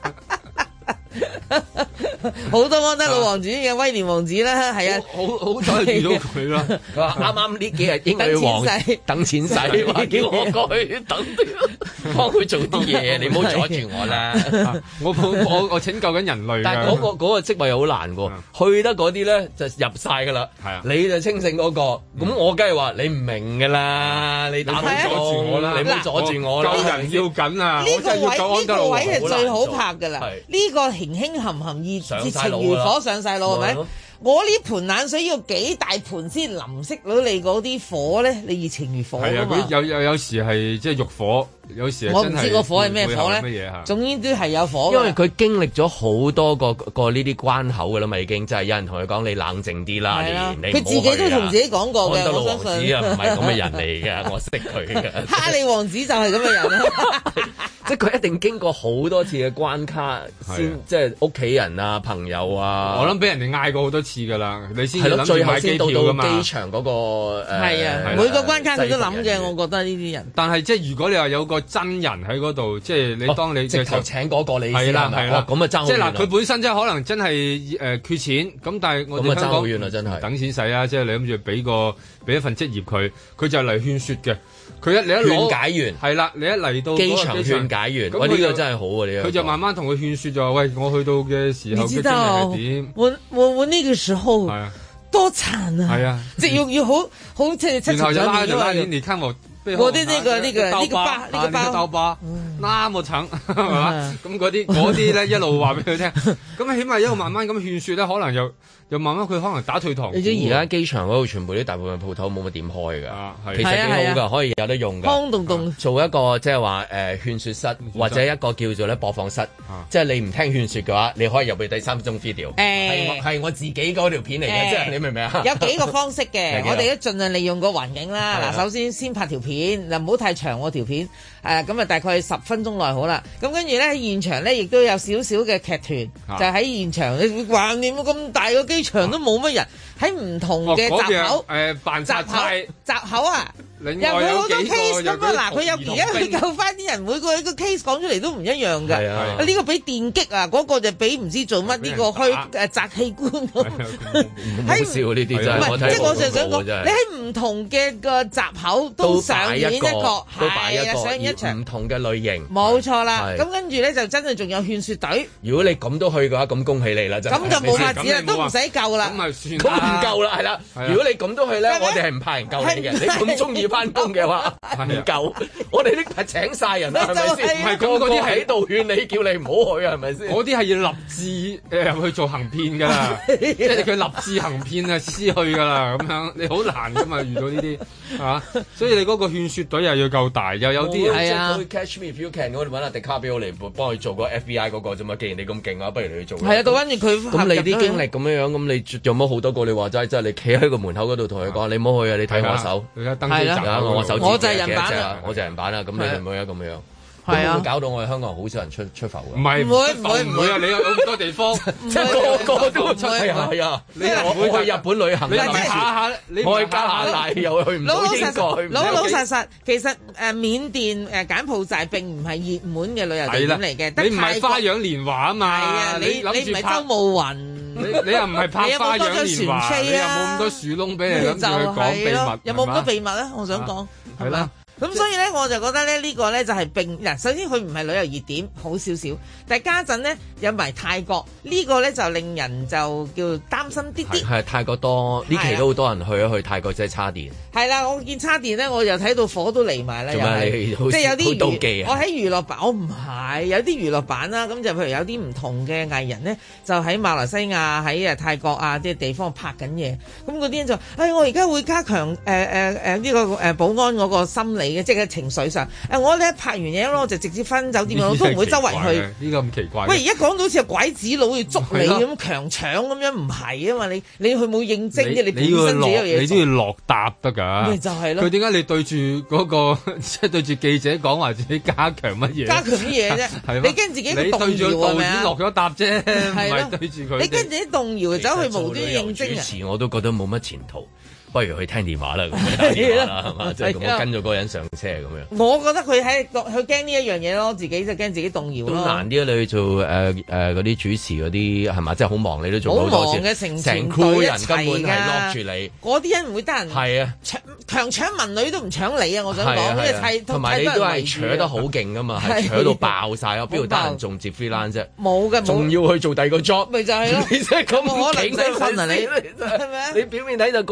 好多安德魯王子嘅威廉王子啦，係啊，好好彩遇到佢啦。佢話啱啱呢幾日英女王等錢使，話叫我過去等，幫佢做啲嘢，你唔好阻住我啦。我我我拯救緊人類。但係嗰個嗰個職位好難喎，去得嗰啲咧就入晒噶啦。係啊，你就清醒嗰個，咁我梗係話你唔明噶啦，你打唔阻住我啦，你唔好阻住我啦。救人要緊啊！呢個位呢個位係最好拍噶啦，呢個輕輕含含意。情如火上晒腦係咪？ 我呢盆冷水要幾大盆先淋熄到你嗰啲火咧？你熱情如火啊嘛！ 係啊，有有有時係即係欲火。有時我唔知個火係咩火咧， 乜嘢嚇？ 總之都係有火。 因為佢經歷咗好多個個呢啲關口㗎啦嘛，已經就係有人同佢講你冷靜啲啦，你你佢自己都同自己講過嘅。 安德魯王子啊，唔係咁嘅人嚟嘅，我識佢嘅。 哈利王子就係咁嘅人啦， 即係佢一定經過好多次嘅關卡先，即係屋企人啊、朋友啊。 我諗俾人哋嗌過好多次㗎啦，你先係咯，最後先到到機場嗰個誒。 係啊，每個關卡佢都諗嘅，我覺得呢啲人。 但係即係如果你話有個真人喺嗰度，即係你當你直頭請嗰個你係啦係啦， 咁啊爭好遠。 即係嗱，佢本身即係可能真係誒缺錢，咁但係我哋香港等錢使啊！即係你諗住俾個俾一份職業佢，佢就嚟勸説嘅。佢一你一勸解員係啦，你一嚟到機場勸解員，喂呢個真係好啊！呢個佢就慢慢同佢勸説就話：喂，我去到嘅時候嘅經歷係點？ 我我我呢個時候多慘啊！ 係啊， 即係要要好好即係七情上面啊！ 你看我。 我啲呢個呢個呢個包呢個包刀疤，那麼慘係嘛？咁嗰啲嗰啲咧一路話俾佢聽，咁起碼一路慢慢咁勸説咧，可能又又慢慢佢可能打退堂鼓。 你知而家機場嗰度全部啲大部分鋪頭冇乜點開㗎，其實幾好㗎，可以有得用㗎。 空洞洞做一個即係話誒勸説室，或者一個叫做咧播放室，即係你唔聽勸説嘅話，你可以入去第三分鐘 video。誒係我自己嗰條片嚟嘅，即係你明唔明啊？ 有幾個方式嘅，我哋都盡量利用個環境啦。嗱，首先先拍條片。嗱，唔好太長喎條片，誒咁啊大概十分鐘內好啦。咁跟住咧喺現場咧，亦都有少少嘅劇團，啊、就喺現場。你話你咁大個機場都冇乜人，喺唔同嘅閘口，誒扮閘口， 閘口啊！有佢好多 case 咁啊！嗱，佢有而家佢救翻啲人，每個一個 case 講出嚟都唔一樣㗎。係啊，呢個俾電擊啊，嗰個就俾唔知做乜呢個虛誒摘器官。 唔好笑呢啲真係，我睇即係我就想講，你喺唔同嘅個閘口都上演一個，係啊，上演一場唔同嘅類型。 冇錯啦，咁跟住咧就真係仲有勸説隊。 如果你咁都去嘅話，咁恭喜你啦！真係咁就冇法子啦，都唔使救啦。 咁咪算咁唔夠啦，係啦。如果你咁都去咧，我哋係唔派人救你嘅。你咁中意翻工嘅話，唔夠，我哋呢排請晒人啦，係咪先？唔係咁嗰啲喺度勸你，叫你唔好去啊，係咪先？ 嗰啲係要立志誒入去做行騙㗎啦，即係佢立志行騙啊，私去㗎啦，咁樣你好難㗎嘛，遇到呢啲係嘛？所以你嗰個勸説隊又要夠大，又有啲係啊。Catch me if you can，我哋揾阿迪卡比奧嚟幫佢做個 F B I 嗰個啫嘛。既然你咁勁啊，不如你去做。 係啊，到跟住佢咁你啲經歷咁樣樣，咁你有冇好多個？你話齋即係你企喺個門口嗰度同佢講，你唔好去啊！你睇我手， 係啦， 我手。 我就係人版啦， 我就係人版啦，咁你會唔會啊咁樣？ 係啊， 搞到我哋香港人好少人出出埠嘅。 唔係唔會唔會唔會啊！你有咁多地方， 即係個個都出係啊係啊！你唔會去日本旅行， 你咪下下你我去加拿大又去唔到英國， 老老實實其實誒緬甸誒柬埔寨並唔係熱門嘅旅遊地點嚟嘅。 你唔係花樣年華啊嘛？ 係啊，你你唔係周慕雲， 你你又唔係拍花樣年華，你又冇咁多樹窿俾你諗住去講秘密， 有冇咁多秘密咧？我想講係啦。咁所以咧，我就覺得咧，呢個咧就係並嗱，首先佢唔係旅遊熱點，好少少。但係家陣咧有埋泰國呢個咧，就令人就叫擔心啲啲。 係泰國多呢期都好多人去一去泰國，即係叉電。係啦，我見叉電咧，我又睇到火都嚟埋啦，又係即係有啲妒忌啊！ 我喺娛樂版，我唔係有啲娛樂版啦。咁就譬如有啲唔同嘅藝人咧，就喺馬來西亞、喺誒泰國啊啲地方拍緊嘢。咁嗰啲人就誒、哎，我而家會加強誒誒誒呢個誒保安嗰個心理。即係情緒上，誒我咧拍完嘢咯，我就直接翻酒店，我都唔會周圍去。 呢個咁奇怪。 喂，而家講到好似拐子佬要捉你咁強搶咁樣，唔係啊嘛？你你去冇認證啫，你本身自己有嘢。 你都要落答得㗎。 咪就係咯。 佢點解你對住嗰個即係對住記者講話自己加強乜嘢？ 加強乜嘢啫？你跟自己動搖係咪啊？ 落咗答啫，唔係對住佢。 你跟自己動搖走去無端認證啊？ 主持我都覺得冇乜前途。不如去聽電話啦，咁打電話啦，係嘛？即係咁，我跟咗嗰個人上車咁樣。 我覺得佢喺佢驚呢一樣嘢咯，自己就驚自己動搖咯。 咁難啲啊！你去做誒誒嗰啲主持嗰啲係嘛？即係好忙，你都做好多次。成成隊人根本係落住你。 嗰啲人唔會得人。係啊，搶強搶民女都唔搶你啊！我想講，因為係同埋你都係搶得好勁噶嘛，係搶到爆晒啊！邊度得人仲接 freelance 啫？ 冇嘅， 仲要去做第二個 job， 咪就係咯。 你真係咁可能使瞓啊！你係咪啊？你表面睇就個個話好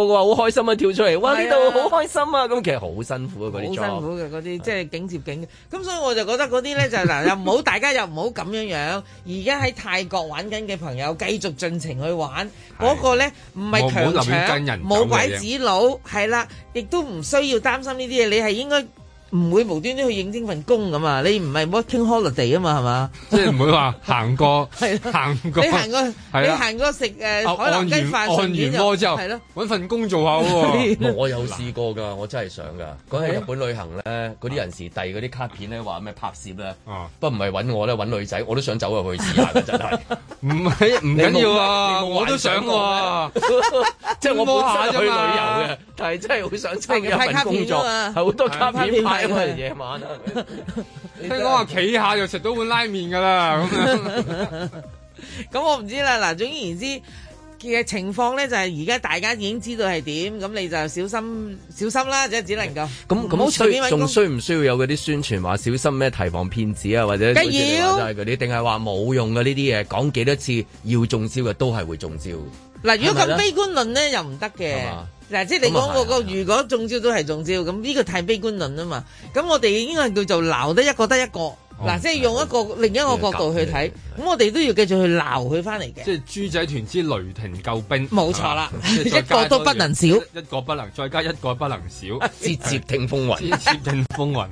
開心啊，跳出嚟，哇呢度好開心啊，咁其實好辛苦啊嗰啲，好辛苦嘅嗰啲，即係景接景。咁所以我就覺得嗰啲咧就嗱又唔好，大家又唔好咁樣樣。而家喺泰國玩緊嘅朋友繼續盡情去玩，嗰個咧唔係強搶，冇拐子佬，係啦，亦都唔需要擔心呢啲嘢，你係應該。唔會無端端去應徵份工㗎嘛？你唔係 working holiday 啊嘛？係嘛？ 即係唔會話行過，行過， 你行過，你行過食誒海南雞飯， 按完摩之後，係咯，揾份工做下喎。 我有試過㗎，我真係想㗎。嗰日日本旅行咧，嗰啲人士遞嗰啲卡片咧，話咩拍攝咧，不過唔係揾我咧，揾女仔，我都想走入去試下㗎，真係。 唔係唔緊要啊，我都想喎。 即係我本身去旅遊嘅，但係真係好想參與一份工作，係好多卡片派。夜晚啊！ 聽講話企下就食到碗拉麵噶啦，咁樣。 咁我唔知啦。嗱，總而言之嘅情況咧，就係而家大家已經知道係點，咁你就小心小心啦，即係只能夠。 咁咁需仲需唔需要有嗰啲宣傳話小心咩提防騙子啊，或者梗要嗰啲，定係話冇用嘅呢啲嘢？講幾多次要中招嘅都係會中招。 嗱，如果咁悲觀論咧，又唔得嘅。嗱，即係你講嗰個，如果中招都係中招，咁呢個太悲觀論啊嘛。咁我哋應該叫做鬧得一個得一個。嗱，即係用一個另一個角度去睇，咁我哋都要繼續去鬧佢翻嚟嘅。 即係豬仔團之雷霆救兵， 冇錯啦，一個都不能少， 一個不能再加一個不能少， 節節聽風雲， 節節聽風雲。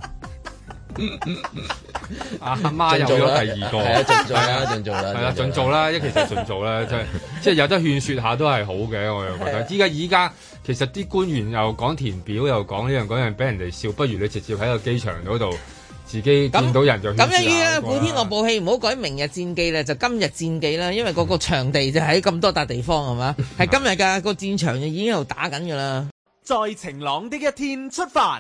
阿媽有咗第二個， 係啊，盡做啦，盡做啦， 係啦，盡做啦，一其實盡做啦，即係即係有得勸説下都係好嘅，我又覺得。依家依家其實啲官員又講填表，又講呢樣嗰樣，俾人哋笑，不如你直接喺個機場嗰度自己見到人就勸説下。咁樣於啦， 古天樂部戲唔好改明日戰記啦，就今日戰記啦，因為嗰個場地就喺咁多笪地方係嘛，係今日㗎個戰場就已經喺度打緊㗎啦。 在晴朗的一天出發。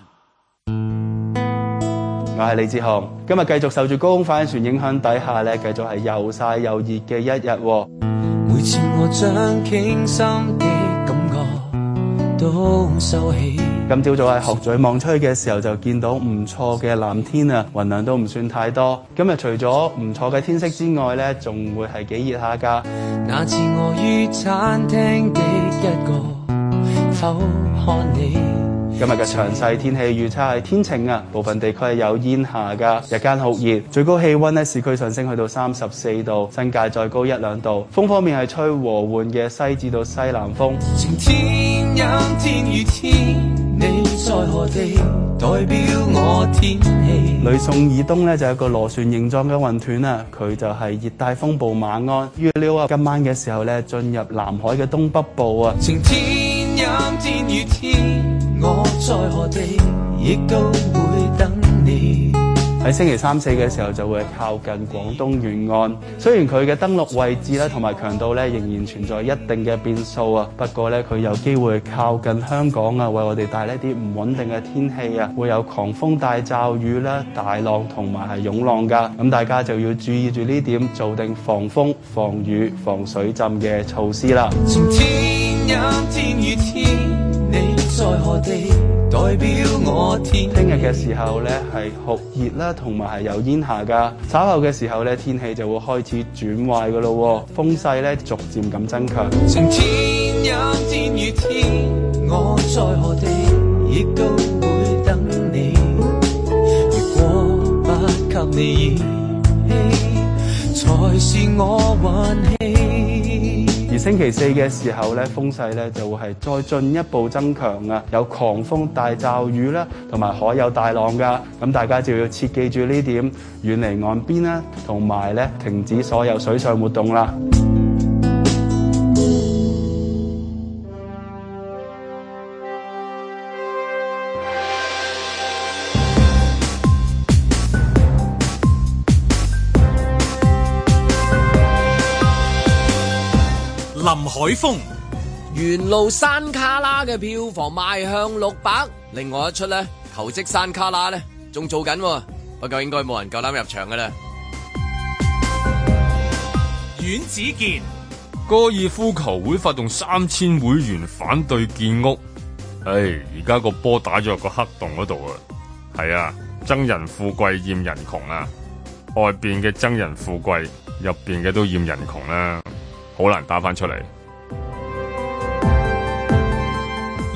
我係李志雄，今日繼續受住高空反氣旋影響底下咧，繼續係又曬又熱嘅一日。 每次我將傾心的感覺都收起。 今朝早喺鶴咀望出去嘅時候，就見到唔錯嘅藍天啊，雲量都唔算太多。今日除咗唔錯嘅天色之外咧，仲會係幾熱下㗎。 那次我於餐廳的一個偷看你。 今日嘅詳細天氣預測係天晴啊，部分地區係有煙霞㗎，日間酷熱，最高氣溫呢市區上升去到三十四度，新界再高一兩度。風方面係吹和緩嘅西至到西南風。 晴天陰天雨天，你在何地？代表我天氣。 呂宋以東呢就有一個螺旋形狀嘅雲團啊，佢就係熱帶風暴馬鞍，預料啊今晚嘅時候呢進入南海嘅東北部啊。 晴天陰天雨天，我在何地，亦都會等你。 喺星期三四嘅時候就會靠近廣東沿岸，雖然佢嘅登陸位置咧同埋強度咧仍然存在一定嘅變數啊，不過咧佢有機會靠近香港啊，為我哋帶來一啲唔穩定嘅天氣啊，會有狂風大驟雨啦、大浪同埋係湧浪㗎，咁大家就要注意住呢點，做定防風、防雨、防水浸嘅措施啦。 晴天陰天雨天，你在何地？代表我天。 聽日嘅時候咧係酷熱啦，同埋係有煙霞噶。稍後嘅時候咧，天氣就會開始轉壞噶咯，風勢咧逐漸咁增強。 晴天陰天雨天，我在何地，亦都會等你。如果不給你熱氣，才是我運氣。 而星期四嘅時候咧，風勢咧就會係再進一步增強啊，有狂風大驟雨啦，同埋海有大浪噶。咁大家就要切記住呢點，遠離岸邊啦，同埋咧停止所有水上活動啦。 林海峰， 沿路山卡拉嘅票房邁向六百，另外一出咧求職山卡拉咧仲做緊，不過應該冇人夠膽入場噶啦。 阮子健， 高爾夫球會發動三千會員反對建屋，唉，而家個波打咗入個黑洞嗰度啊！係啊，憎人富貴厭人窮啊，外邊嘅憎人富貴，入邊嘅都厭人窮啦。好難打翻出嚟。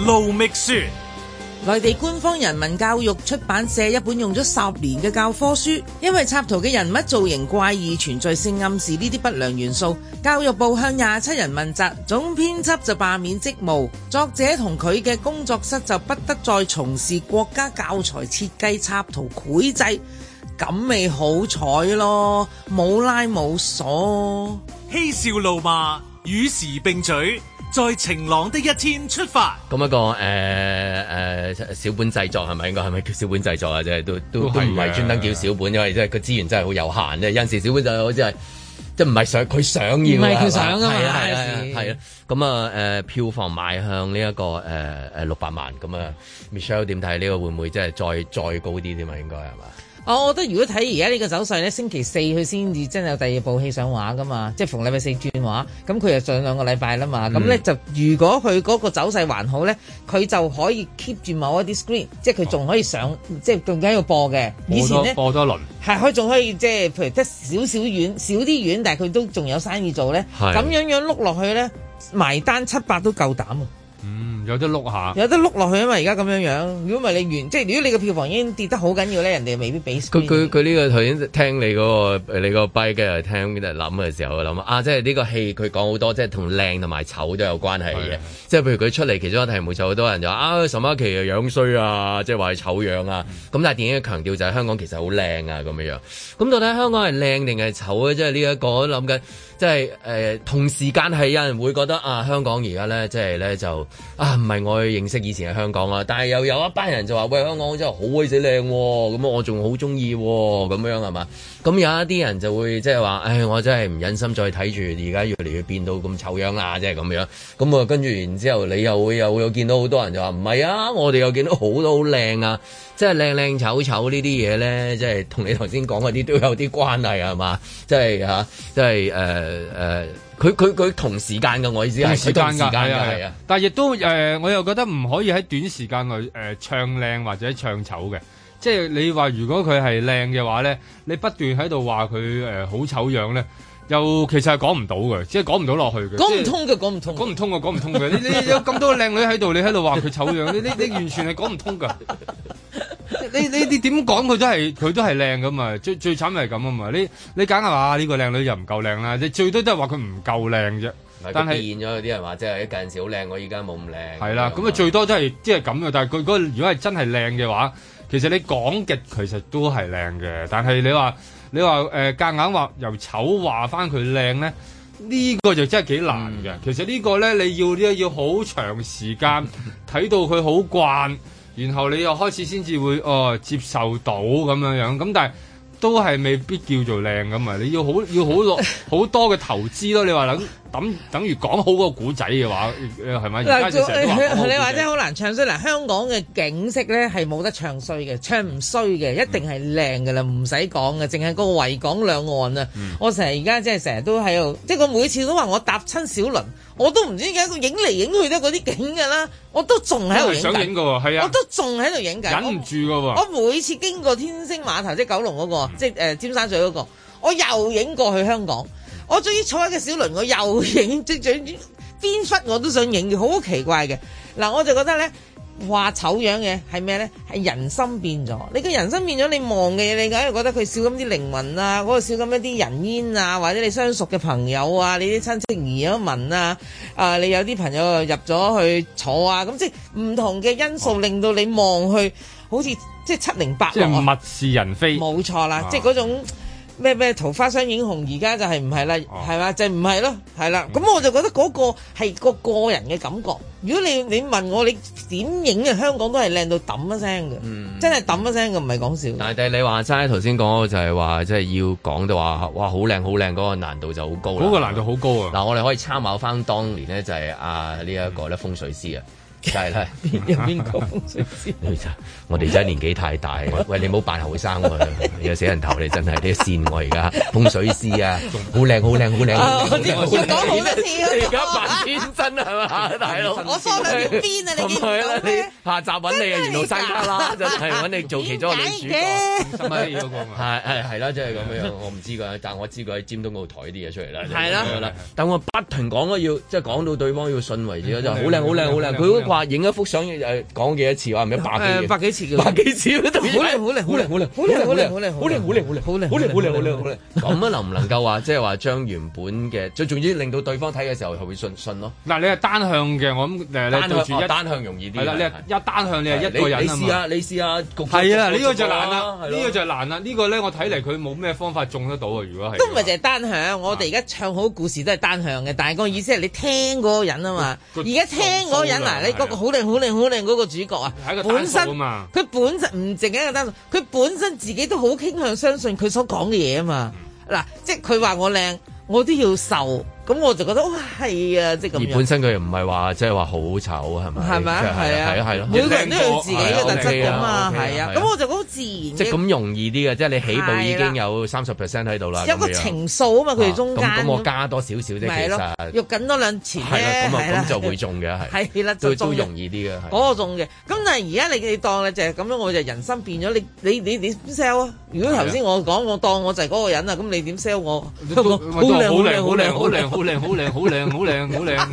盧覓雪。 內地官方人民教育出版社一本用咗十年嘅教科書，因為插圖嘅人物造型怪異，存在性暗示呢啲不良元素，教育部向廿七人問責，總編輯就罷免職務，作者同佢嘅工作室就不得再從事國家教材設計、插圖、繪製，咁咪好彩咯，冇拉冇鎖， 嬉笑怒罵與時並舉。在晴朗的一天出發。 咁一個誒誒、呃呃、小本製作係咪應該係咪叫小本製作啊？即係都都都唔係專登叫小本，因為即係個資源真係好有限啫。有陣時小本就好似係即係唔係想佢想要，唔係佢想啊嘛。係啊係啊係啊。咁啊誒票房邁向呢、這、一個誒誒六百萬。咁啊 Michelle 點睇呢個會唔會即係再再高啲添啊？應該係嘛？ 我覺得如果睇而家呢個走勢咧，星期四佢先至真係有第二部戲上畫噶嘛，即係逢禮拜四轉畫，咁佢就上兩個禮拜啦嘛，咁咧、嗯、就如果佢嗰個走勢還好咧，佢就可以 keep 住某一啲 screen，即係佢仲可以上，哦、即係仲緊要播嘅。以前咧播多輪， 係佢仲可以即係譬如得少少遠少啲遠，但係佢都仲有生意做咧。咁樣樣碌落去咧，埋單七百都夠膽啊！ 嗯，有得碌下， 有得碌落去啊嘛！而家咁樣樣，如果唔係你完，即係如果你個票房已經跌得好緊要咧，人哋未必俾。 佢佢佢呢個頭先聽你嗰、嗰個你個 bite 嘅聽諗嘅時候，我諗啊，即係呢個戲佢講好多，即係同靚同埋醜都有關係嘅。即係譬如佢出嚟其中一個題目就好多人就話啊，沈嘉琪啊樣衰啊，即係話係醜樣啊。咁、嗯、但係電影嘅強調就係香港其實好靚啊咁樣樣。咁到底香港係靚定係醜咧？即係呢一個我都諗緊。即係誒、呃，同時間係有人會覺得啊，香港而家咧，即係咧就啊，唔係我認識以前嘅香港啦。但係又有一班人就話，喂，香港真係好鬼死靚，咁我仲好中意，咁樣係嘛？咁有一啲人就會即係話，唉，我真係唔忍心再睇住，而家越嚟越變到咁醜樣啦，即係咁樣。咁啊，跟住然之後，你又會又會有見到好多人就話，唔係啊，我哋又見到好多好靚啊，即係靚靚醜醜呢啲嘢咧，即係同你頭先講嗰啲都有啲關係係嘛？即係嚇，即係誒。呃誒誒，佢佢佢同時間嘅，我意思係時間㗎，係啊係啊， 但係亦都誒、呃，我又覺得唔可以喺短時間內誒、呃、唱靚或者唱醜嘅，即係你話如果佢係靚嘅話咧，你不斷喺度話佢誒好醜樣咧，又其實係講唔到嘅，即係講唔到落去嘅， 講唔通嘅，講唔通， 講唔通嘅，講唔通嘅，你你有咁多靚女喺度，你喺度話佢醜樣，你你你完全係講唔通㗎。你你你點講佢都係佢都係靚噶嘛，最最慘係咁啊嘛，你你梗係話呢個靚女又唔夠靚啦，你最多都係話佢唔夠靚啫。但係變咗有啲人話即係一陣時好靚，我依家冇咁靚。 係啦，咁啊最多都係即係咁嘅，但係佢嗰如果係真係靚嘅話，其實你講極其實都係靚嘅，但係你話你話誒夾硬話由醜話翻佢靚咧，呢、呢個就真係幾難嘅。嗯、其實個呢個咧你要呢要好長時間睇到佢好慣。然後你又開始先至會哦接受到咁樣樣，咁但係都係未必叫做靚咁啊！你要好要好落好多嘅投資咯。你話等等等於講好個古仔嘅話，係咪？而家就成日都話你話真係好難唱衰。嗱，香港嘅景色咧係冇得唱衰嘅，唱唔衰嘅，一定係靚㗎啦，唔使講嘅，淨係個維港兩岸啊！嗯、我成日而家即係成日都喺度，即係我每次都話我搭親小輪。我都唔知點解佢影嚟影去都嗰啲景㗎啦，我都仲喺度影緊。想影㗎喎，係啊，我都仲喺度影緊。 忍唔住㗎喎。 我每次經過天星碼頭，即係九龍嗰個，嗯、即係誒尖沙咀嗰個，我又影過去香港。我終於坐喺個小輪，我又影，即係邊忽我都想影嘅，好奇怪嘅。嗱，我就覺得咧。話醜樣嘅係咩咧？係人心變咗。你個人心變咗，你望嘅嘢，你梗係覺得佢少咁啲靈魂啊，嗰個少咁一啲人煙啊，或者你相熟嘅朋友啊，你啲親戚移咗民啊，啊，你有啲朋友入咗去坐啊，咁即係唔同嘅因素令到你望去，好似即係七零八落啊， 即係物是人非。 冇錯啦，啊、即係嗰種。咩咩桃花雙影紅，而家就係唔係啦，係嘛、哦、就唔係咯，係啦。咁、嗯、我就覺得嗰個係個個人嘅感覺。如果你你問我，你點影嘅香港都係靚到揼一聲嘅，嗯、真係揼一聲嘅，唔係講笑。 但係你話齋頭先講就係話，即係要講到話，哇好靚好靚嗰個難度就好高啦。 嗰個難度好高啊！ 嗱，我哋可以參考翻當年咧，就係啊呢一個咧風水師啊。就係啦， 邊邊個風水師？ 我哋真係年紀太大，喂，你唔好扮後生喎，有死人頭你真係你線我而家風水師啊，好靚好靚好靚！ 我知我講好多次， 你而家扮天真係嘛，大佬？ 我梳兩條辮啊，你見唔到咩？ 下集揾你啊，緣路山旮旯就係揾你做其中一個女主角。 十蚊嗰個嘛？ 係係係啦，即係咁樣，我唔知㗎，但係我知佢喺尖東嗰度抬啲嘢出嚟啦。 係啦， 但我不停講咯，要即係講到對方要信為止咯，就好靚好靚好靚，佢話影一幅相誒講幾多次話唔係百幾百幾次百幾次好靚好靚好靚好靚好靚好靚好靚好靚好靚好靚好靚好靚好靚好靚好靚咁啊能唔能夠話即係話將原本嘅最重要令到對方睇嘅時候係會信信咯？ 嗱，你係單向嘅，我諗誒你對住一單向容易啲。 係啦，你係一單向，你係一個人啊嘛。 你試下，你試下焗。 係啊，呢個就難啦，呢個就難啦。呢個咧，我睇嚟佢冇咩方法中得到啊。如果係都唔係淨係單向，我哋而家唱好故事都係單向嘅，但係個意思係你聽嗰個人啊嘛。而家聽嗰個人嗱，你嗰個好靚好靚好靚嗰個主角啊，本身佢本身唔淨係一個單數，佢本身自己都好傾向相信佢所講嘅嘢啊嘛。嗱，即係佢話我靚，我都要受。咁我就覺得哇係啊，即係咁樣。 而本身佢又唔係話即係話好醜係咪？係咪啊？係啊係啊係咯。 每個人都有自己嘅特質㗎嘛，係啊。咁我就覺得好自然。 即係咁容易啲嘅，即係你起步已經有三十 percent 喺度啦。 有個情數啊嘛，佢哋中間。 咁我加多少少啫，其實。 肉緊多兩錢啫。 係啦，咁啊咁就會中嘅係。係啦，都都容易啲嘅。 嗰個中嘅。咁但係而家你你當咧就係咁樣，我就人生變咗。你你你你點 sell 啊？如果頭先我講我當我就係嗰個人啊，咁你點 sell 我？好靚好靚好靚好靚好靚好靚好靚好靚。 好靚好靚，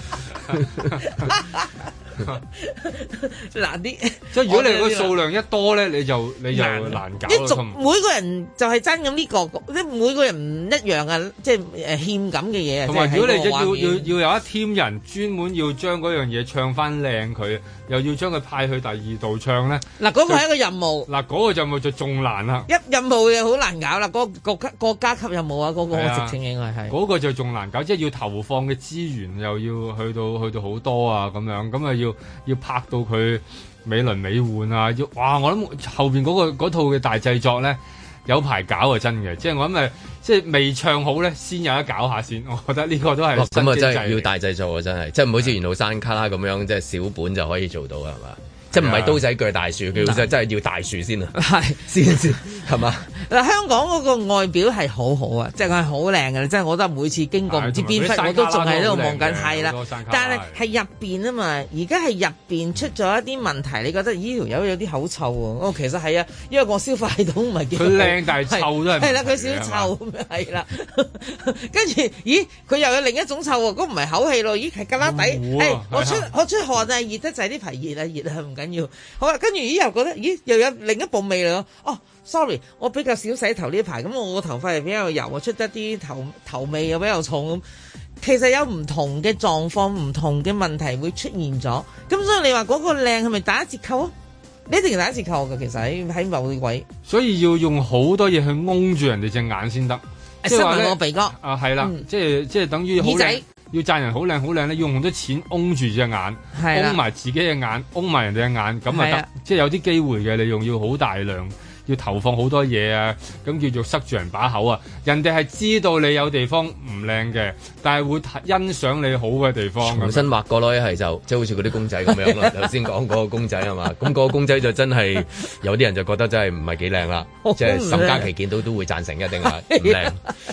難啲。 即係如果你個數量一多咧，你就你就難搞。 一族每個人就係爭咁呢個，即係每個人唔一樣啊！即係誒欠咁嘅嘢啊。 同埋如果你要要要有一 team 人專門要將嗰樣嘢唱翻靚佢，又要將佢派去第二度唱咧。 嗱，嗰個係一個任務。 嗱，嗰個任務就仲難啦。 一任務嘅好難搞啦，嗰個國家國家級任務啊，嗰個我直情應該係。 嗰個就仲難搞，即係要投放嘅資源又要去到去到好多啊咁樣，咁啊要要拍到佢美輪美奐啊！要哇，我諗後邊嗰個嗰套嘅大製作咧有排搞啊，真嘅，即係我諗誒，即係未唱好咧，先有得搞下先。我覺得呢個都係咁啊，真係要大製作啊，真係，即係唔好似緣路山旮旯咁樣，即係小本就可以做到係嘛？即係唔係刀仔鋸大樹，佢真真係要大樹先啊！係先先係嘛？ 嗱，香港嗰個外表係好好啊，即係佢係好靚嘅，即係我覺得每次經過唔知邊忽，我都仲喺度望緊，係啦。但係係入邊啊嘛，而家係入邊出咗一啲問題，你覺得呢條友有啲口臭喎？哦，其實係啊，因為個消化系統唔係幾好。佢靚但係臭都係。係啦，佢少臭咁樣係啦。跟住，咦？佢又有另一種臭喎，嗰唔係口氣咯，咦？係旮旯底。誒，我出我出汗啊，熱得滯啲皮熱啊，熱啊唔緊要。好啦，跟住咦又覺得咦又有另一部味嚟咯。哦，sorry，我比較少洗頭呢排，咁我個頭髮又比較油，出得啲頭頭味又比較重咁。其實有唔同嘅狀況，唔同嘅問題會出現咗。咁所以你話嗰個靚係咪打折扣啊？你一定打折扣㗎，其實喺喺某啲位。 所以要用好多嘢去擁住人哋隻眼先得。 即係話個鼻哥啊，係啦，即係即係等於耳仔。 要讚人好靚好靚咧，要用好多錢擁住隻眼，擁埋自己嘅眼，擁埋人哋嘅眼，咁啊得，即係有啲機會嘅，你用要好大量，要投放好多嘢啊，咁叫做塞住人把口啊。人哋係知道你有地方唔靚嘅，但係會欣賞你好嘅地方。 重新畫過咯，一係就即係好似嗰啲公仔咁樣啦。頭先講嗰個公仔係嘛，咁嗰個公仔就真係有啲人就覺得真係唔係幾靚啦，即係沈嘉琪見到都會贊成一定係唔靚。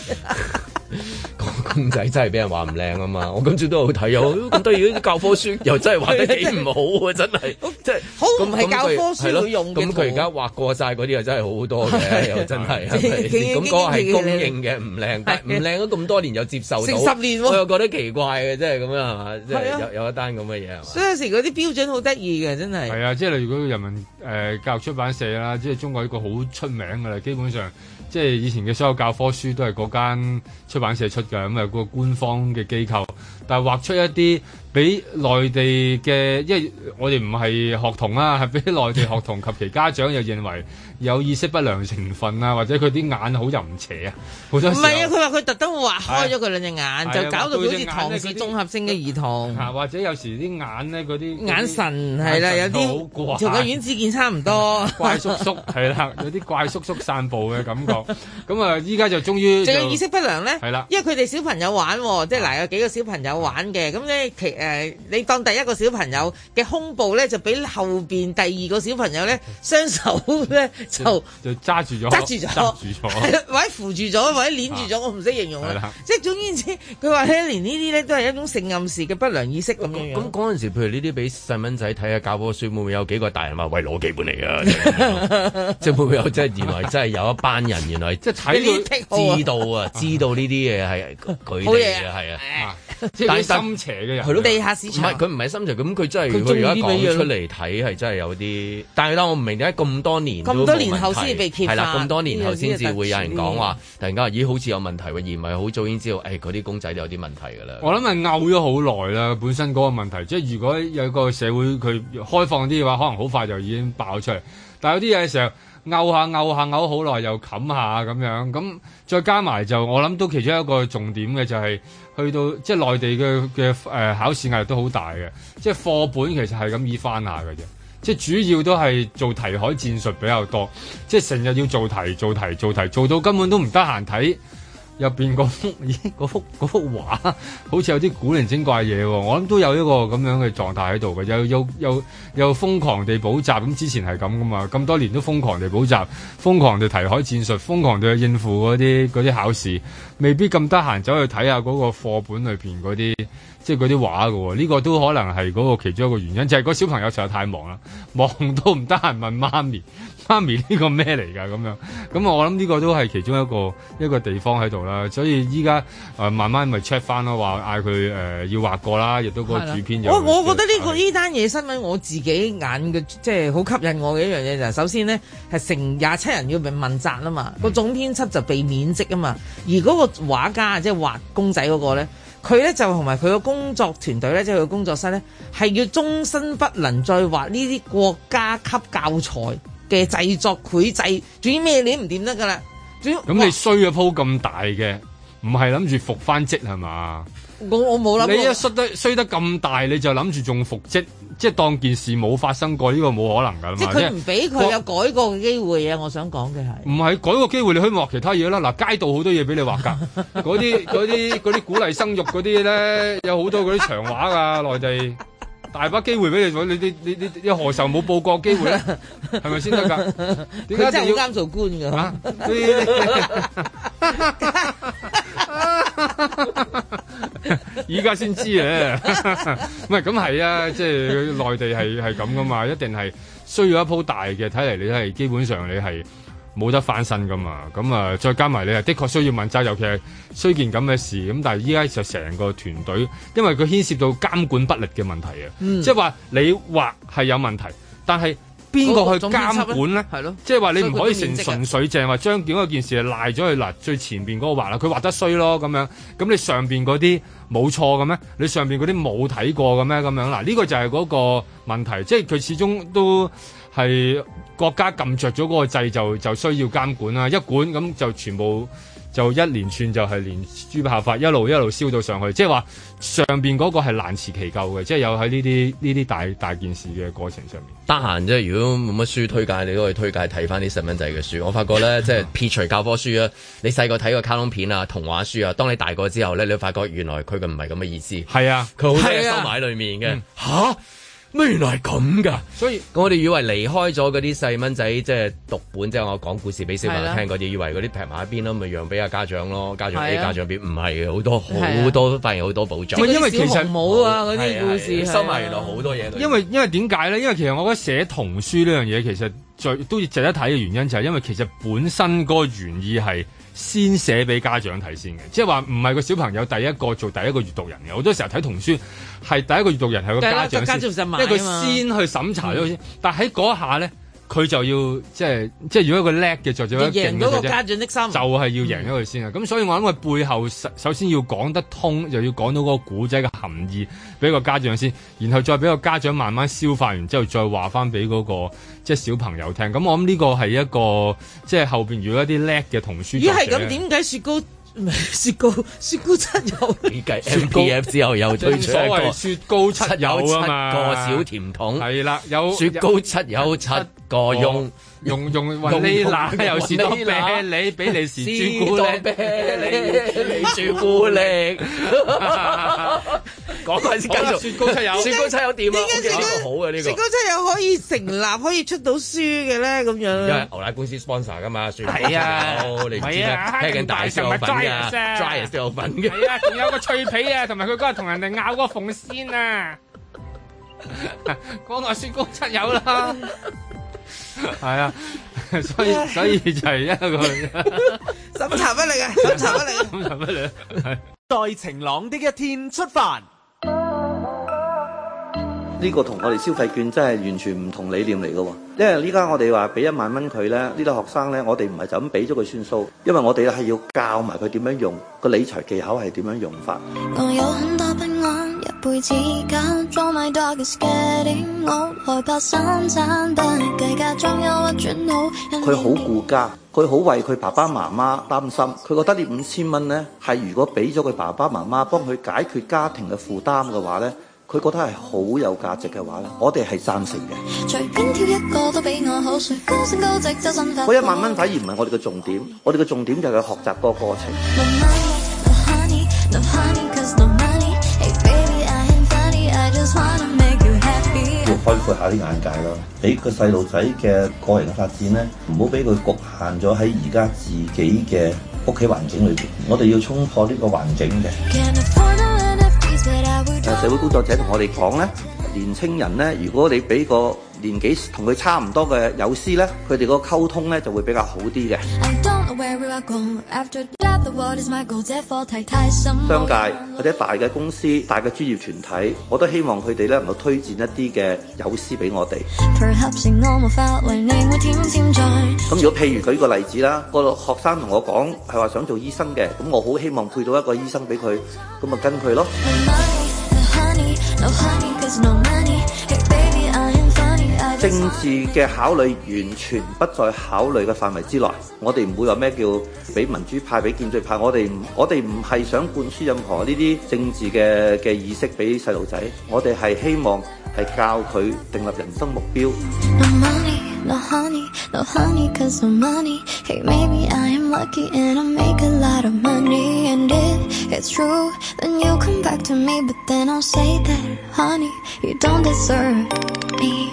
個公仔真係俾人話唔靚啊嘛！我今朝都好睇，有咁得意啲教科書又真係畫得幾唔好啊！真係，即係好唔係教科書會用嘅。 咁佢而家畫過晒嗰啲又真係好好多嘅，又真係。咁嗰個係公認嘅唔靚，但係唔靚咗咁多年又接受到， 成十年我又覺得奇怪嘅，即係咁樣係嘛？即係有有一單咁嘅嘢係嘛？ 所以有時嗰啲標準好得意嘅，真係。 係啊，即係例如嗰個人民誒教育出版社啦，即係中國一個好出名㗎啦，基本上。即係以前嘅所有教科書都係嗰間出版社出嘅，咁啊個官方嘅機構，但係畫出一啲俾內地嘅，因為我哋唔係學童啊，係俾內地學童及其家長又認為有意識不良成分啊，或者佢啲眼好淫邪啊，好多時候。唔係啊， 佢話佢特登畫開咗佢兩隻眼，就搞到好似唐氏綜合性嘅兒童。 啊，或者有時啲眼咧嗰啲眼神係啦，有啲同個阮子健差唔多。 怪叔叔係啦，有啲怪叔叔散步嘅感覺。咁啊，依家就終於仲有意識不良咧， 係啦， 因為佢哋小朋友玩，即係嗱有幾個小朋友玩嘅，咁咧其誒你當第一個小朋友嘅胸部咧就俾後邊第二個小朋友咧雙手咧就就揸住咗， 揸住咗， 揸住咗， 或者扶住咗，或者鏈住咗，我唔識形容啦。即係總言之，佢話咧連呢啲咧都係一種性暗示嘅不良意識咁樣樣。 咁嗰陣時，譬如呢啲俾細蚊仔睇下教科書，會唔會有幾個大人話喂攞幾本嚟㗎？即係會唔會有即係原來真係有一班人原來即係睇到知道啊，知道呢啲嘢係佢哋嘅係啊， 即係心邪嘅人。 係咯， 地下市場。 唔係佢唔係心邪，咁佢真係佢而家講出嚟睇係真係有啲。但係咧，我唔明點解咁多年咁多年後先被揭發。 係啦，咁多年後先至會有人講話，突然間話咦好似有問題喎，而唔係好早已經知道誒嗰啲公仔都有啲問題㗎啦。 我諗係拗咗好耐啦，本身嗰個問題，即係如果有個社會佢開放啲嘅話，可能好快就已經爆出嚟。但係有啲嘢嘅時候。拗下拗下拗好耐又冚下咁樣，咁再加埋就我諗都其中一個重點嘅就係去到即係內地嘅嘅誒考試壓力都好大嘅，即係課本其實係咁易翻下嘅啫，即係主要都係做題海戰術比較多，即係成日要做題做題做題，做到根本都唔得閒睇入邊嗰幅咦嗰幅嗰幅畫，好似有啲古靈精怪嘢喎，我諗都有一個咁樣嘅狀態喺度嘅，又又又又瘋狂地補習，咁之前係咁噶嘛，咁多年都瘋狂地補習，瘋狂地題海戰術，瘋狂地去應付嗰啲嗰啲考試，未必咁得閒走去睇下嗰個課本裏邊嗰啲即係嗰啲畫㗎喎，呢個都可能係嗰個其中一個原因，就係嗰小朋友實在太忙啦，忙到唔得閒問媽咪。媽咪呢個咩嚟㗎咁樣？咁我諗呢個都係其中一個一個地方喺度啦。所以依家誒慢慢咪 check 翻咯，話嗌佢誒要畫過啦，亦都個主編有。 我我覺得呢、呢個呢單嘢新聞我自己眼嘅即係好吸引我嘅一樣嘢就係首先呢係成廿七人要被問責啊嘛，個、嗯、總編輯就被免職啊嘛，而嗰個畫家即係畫公仔嗰個咧，佢咧就同埋佢個工作團隊咧，即係佢工作室咧，係要終身不能再畫呢啲國家級教材嘅製作繪製，總之咩你唔掂得噶啦。 咁你衰咗鋪咁大嘅，唔係諗住復翻職係嘛？ 我我冇諗。 你一衰得衰得咁大，你就諗住仲復職，即係當件事冇發生過，呢、呢個冇可能噶嘛。 即係佢唔俾佢有改過嘅機會啊！我想講嘅係。唔係改個機會，你可以畫其他嘢啦。嗱，街道好多嘢俾你畫㗎，嗰啲嗰啲嗰啲鼓勵生育嗰啲咧，有好多嗰啲長畫㗎，內地。大把機會俾你，你你你你你何時冇報過機會咧？係咪先得㗎？點解真係好啱做官㗎？ 啊！依家先知啊！唔係咁係啊，即係內地係係咁噶嘛，一定係需要一鋪大嘅。睇嚟你係基本上你係冇得翻身噶嘛。咁啊，再加埋你係的確需要問責，尤其係衰件咁嘅事。咁但係依家就成個團隊，因為佢牽涉到監管不力嘅問題啊。嗯、即係話你畫係有問題，但係邊個去監管咧？係咯，即係話你唔可以成純粹淨係話將件嗰件事賴咗去嗱最前邊嗰個畫啦，佢畫得衰咯咁樣。咁你上邊嗰啲冇錯嘅咩？你上邊嗰啲冇睇過嘅咩？咁樣嗱，呢個就係嗰個問題，即係佢始終都係國家撳着咗嗰個掣，就就需要監管啦。一管咁就全部就一連串就係連珠炮發，一路一路燒到上去。即係話上邊嗰個係難辭其咎嘅，即係有喺呢啲呢啲大大件事嘅過程上面。 得閒即係如果冇乜書推介，你都可以推介睇翻啲細蚊仔嘅書。我發覺咧，即係撇除教科書啊，你細個睇個卡通片啊、童話書啊，當你大個之後咧，你會發覺原來佢嘅唔係咁嘅意思。 係啊， 佢好多嘢收埋喺裏面嘅。吓？咩原來係咁㗎？所以我哋以為離開咗嗰啲細蚊仔，即係讀本，即係我講故事俾小朋友聽嗰啲，以為嗰啲劈埋一邊咯，咪讓俾阿家長咯，家長 A 家長 B， 唔係嘅，好多好多發現好多寶藏。 因為其實冇啊嗰啲故事收埋原來好多嘢。 因為因為點解咧？因為其實我覺得寫童書呢樣嘢其實最都值得睇嘅原因就係因為其實本身嗰個原意係先寫俾家長睇先嘅，即係話唔係個小朋友第一個做第一個閱讀人嘅。好多時候睇童書係第一個閱讀人係個家長先，因為佢先去審查咗先。嗯、但喺嗰下咧，佢就要即係即係如果一個叻嘅作者， 贏到個家長的心， 就係要贏咗佢先啊！咁、嗯、所以我諗佢背後首先要講得通，就要講到嗰個古仔嘅含義俾個家長先，然後再俾個家長慢慢消化完之後，再話翻俾嗰個即係小朋友聽。咁我諗呢個係一個即係後邊如果一啲叻嘅童書作者， 如果係咁，點解雪糕？雪糕雪糕七友， 你計 M P F 之後又推出一個雪糕七友啊嘛， 個小甜筒係啦，有雪糕七友七個用。 用用雲呢拿又士多啤梨，比利時朱古力， 你朱古力，講翻先，跟住雪糕七友，雪糕七友點啊？呢個好嘅呢個， 雪糕七友可以成立，可以出到書嘅咧，咁樣。因為牛奶公司 sponsor 噶嘛，雪糕七友，你唔知咩？聽緊大少有份㗎 ，Dryers 都有份嘅。 係啊，仲有個脆皮啊，同埋佢嗰日同人哋咬個鳳仙啊，講話雪糕七友啦。係啊，所以所以就係一個審查不力啊，審查不力， 審查不力。 在晴朗的一天出發。 呢個同我哋消費券真係完全唔同理念嚟嘅喎，因為呢家我哋話俾一萬蚊佢咧，呢啲學生咧，我哋唔係就咁俾咗佢算數，因為我哋係要教埋佢點樣用個理財技巧係點樣用法。 我有很多不安，一輩子假裝 my dog is getting old， 害怕三餐不計價，裝憂鬱轉好。 佢好顧家，佢好為佢爸爸媽媽擔心，佢覺得呢五千蚊咧係如果俾咗佢爸爸媽媽幫佢解決家庭嘅負擔嘅話咧。佢覺得係好有價值嘅話咧，我哋係贊成嘅。隨便挑一個都比我好，高升高值周身發。嗰一萬蚊反而唔係我哋嘅重點，我哋嘅重點就係佢學習個過程。 要開闊下啲眼界咯，俾個細路仔嘅個人嘅發展咧，唔好俾佢局限咗喺而家自己嘅屋企環境裏邊。我哋要衝破呢個環境嘅。 誒社會工作者同我哋講咧，年青人咧，如果你俾個年紀同佢差唔多嘅友師咧，佢哋個溝通咧就會比較好啲嘅。商界或者大嘅公司、大嘅專業團體，我都希望佢哋咧能夠推薦一啲嘅友師俾我哋。咁如果譬如舉個例子啦，個學生同我講係話想做醫生嘅，咁我好希望配到一個醫生俾佢，咁咪跟佢咯。政治嘅考慮完全不在考慮嘅範圍之內，我哋唔會話咩叫俾民主派、俾建制派，我哋唔我哋唔係想灌輸任何呢啲政治嘅嘅意識俾細路仔，我哋係希望係教佢訂立人生目標。No honey, no honey, cause no money. Hey, maybe I am lucky and I make a lot of money. And if it's true, then you come back to me. But then I'll say that, honey, you don't deserve me.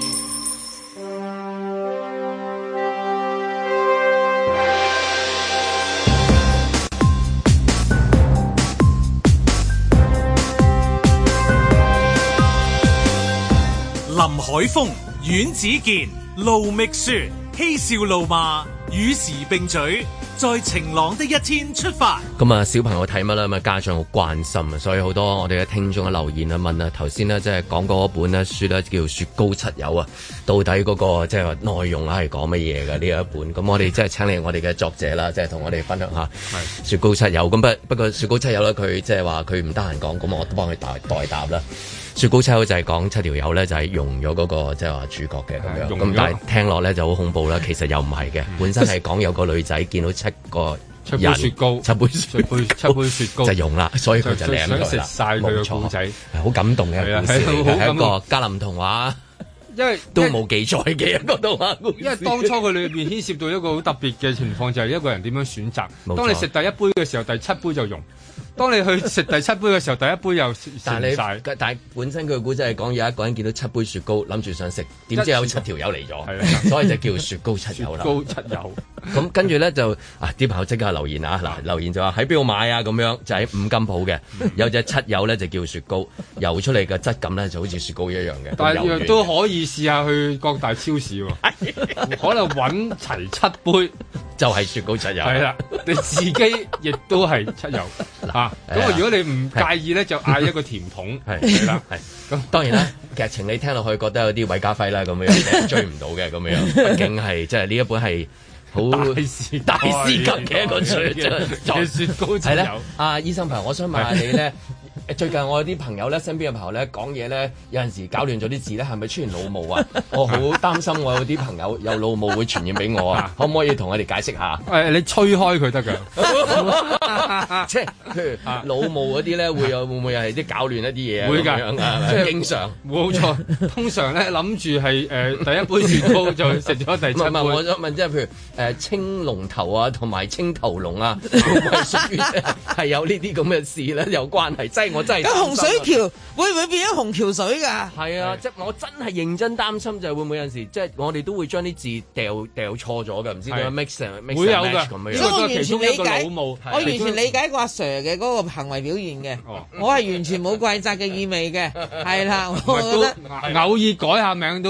林海峰、阮子健、盧覓雪，嬉笑怒罵，與時並舉，在晴朗的一天出發。 咁啊，小朋友睇乜啦？咁啊，家長好關心啊，所以好多我哋嘅聽眾嘅留言啊，問啊，頭先呢，即係講嗰本咧書咧，叫《雪糕七友》啊，到底嗰個即係話內容啊係講乜嘢嘅呢一本？咁我哋即係請嚟我哋嘅作者啦，即係同我哋分享下《雪糕七友》。咁不不過《雪糕七友》咧，佢即係話佢唔得閒講，咁我都幫佢代代答啦。雪糕七友就係講七條友咧，就係融咗嗰個即係話主角嘅咁樣，咁但係聽落咧就好恐怖啦。其實又唔係嘅，本身係講有個女仔見到七個七杯雪糕， 七杯雪杯七杯雪糕就融啦，所以佢就舐佢啦。 食晒佢嘅故仔， 係好感動嘅故事，係一個格林童話。 因為都冇記載嘅一個動畫故事， 因為當初佢裏邊牽涉到一個好特別嘅情況，就係、是、一個人點樣選擇。當你食第一杯嘅時候，第七杯就溶；當你去食第七杯嘅時候，第一杯又食晒。 但係本身佢嘅故仔係講有一個人見到七杯雪糕，諗住想食，點知有七條友嚟咗，所以就叫雪糕七友啦。 雪糕七友。 咁跟住咧就啊啲朋友即刻留言啊，嗱留言就話喺邊度買啊咁樣，就喺五金鋪嘅，有隻七友咧就叫雪糕，游出嚟嘅質感咧就好似雪糕一樣嘅。 但係都可以試下去各大超市喎，可能揾齊七杯就係雪糕七友。 係啦，你自己亦都係七友啊。咁啊，如果你唔介意咧，就嗌一個甜筒係啦。係咁，當然啦，劇情你聽落去覺得有啲韋家輝啦咁樣，追唔到嘅咁樣，畢竟係即係呢一本係。好大師大師級嘅一個雪嘅雪糕七友。阿醫生朋友，我想問下你咧，最近我有啲朋友咧，身邊嘅朋友咧講嘢咧，有陣時搞亂咗啲字咧，係咪出現腦霧啊？我好擔心我有啲朋友有腦霧會傳染俾我啊！可唔可以同我哋解釋下？ 誒，你吹開佢得㗎， 即係譬如腦霧嗰啲咧，會有會唔會係啲搞亂一啲嘢啊？ 會㗎，即係經常冇錯。通常咧諗住係誒第一杯雪糕就食咗第七杯。唔係， 我想問即係譬如誒青龍頭啊，同埋青頭龍啊，會唔會屬於係有呢啲咁嘅事咧？有關係，即係我真係。 咁洪水橋會唔會變咗紅橋水㗎？ 係啊，即係我真係認真擔心，就係會唔會有陣時即係我哋都會將啲字掉掉錯咗㗎？唔知點樣 mix 成 mix 會有㗎咁樣。 所以我完全理解， 我完全理解個阿 Sir 嘅嗰個行為表現嘅。我係完全冇怪責嘅意味嘅，係啦，我覺得偶爾改下名都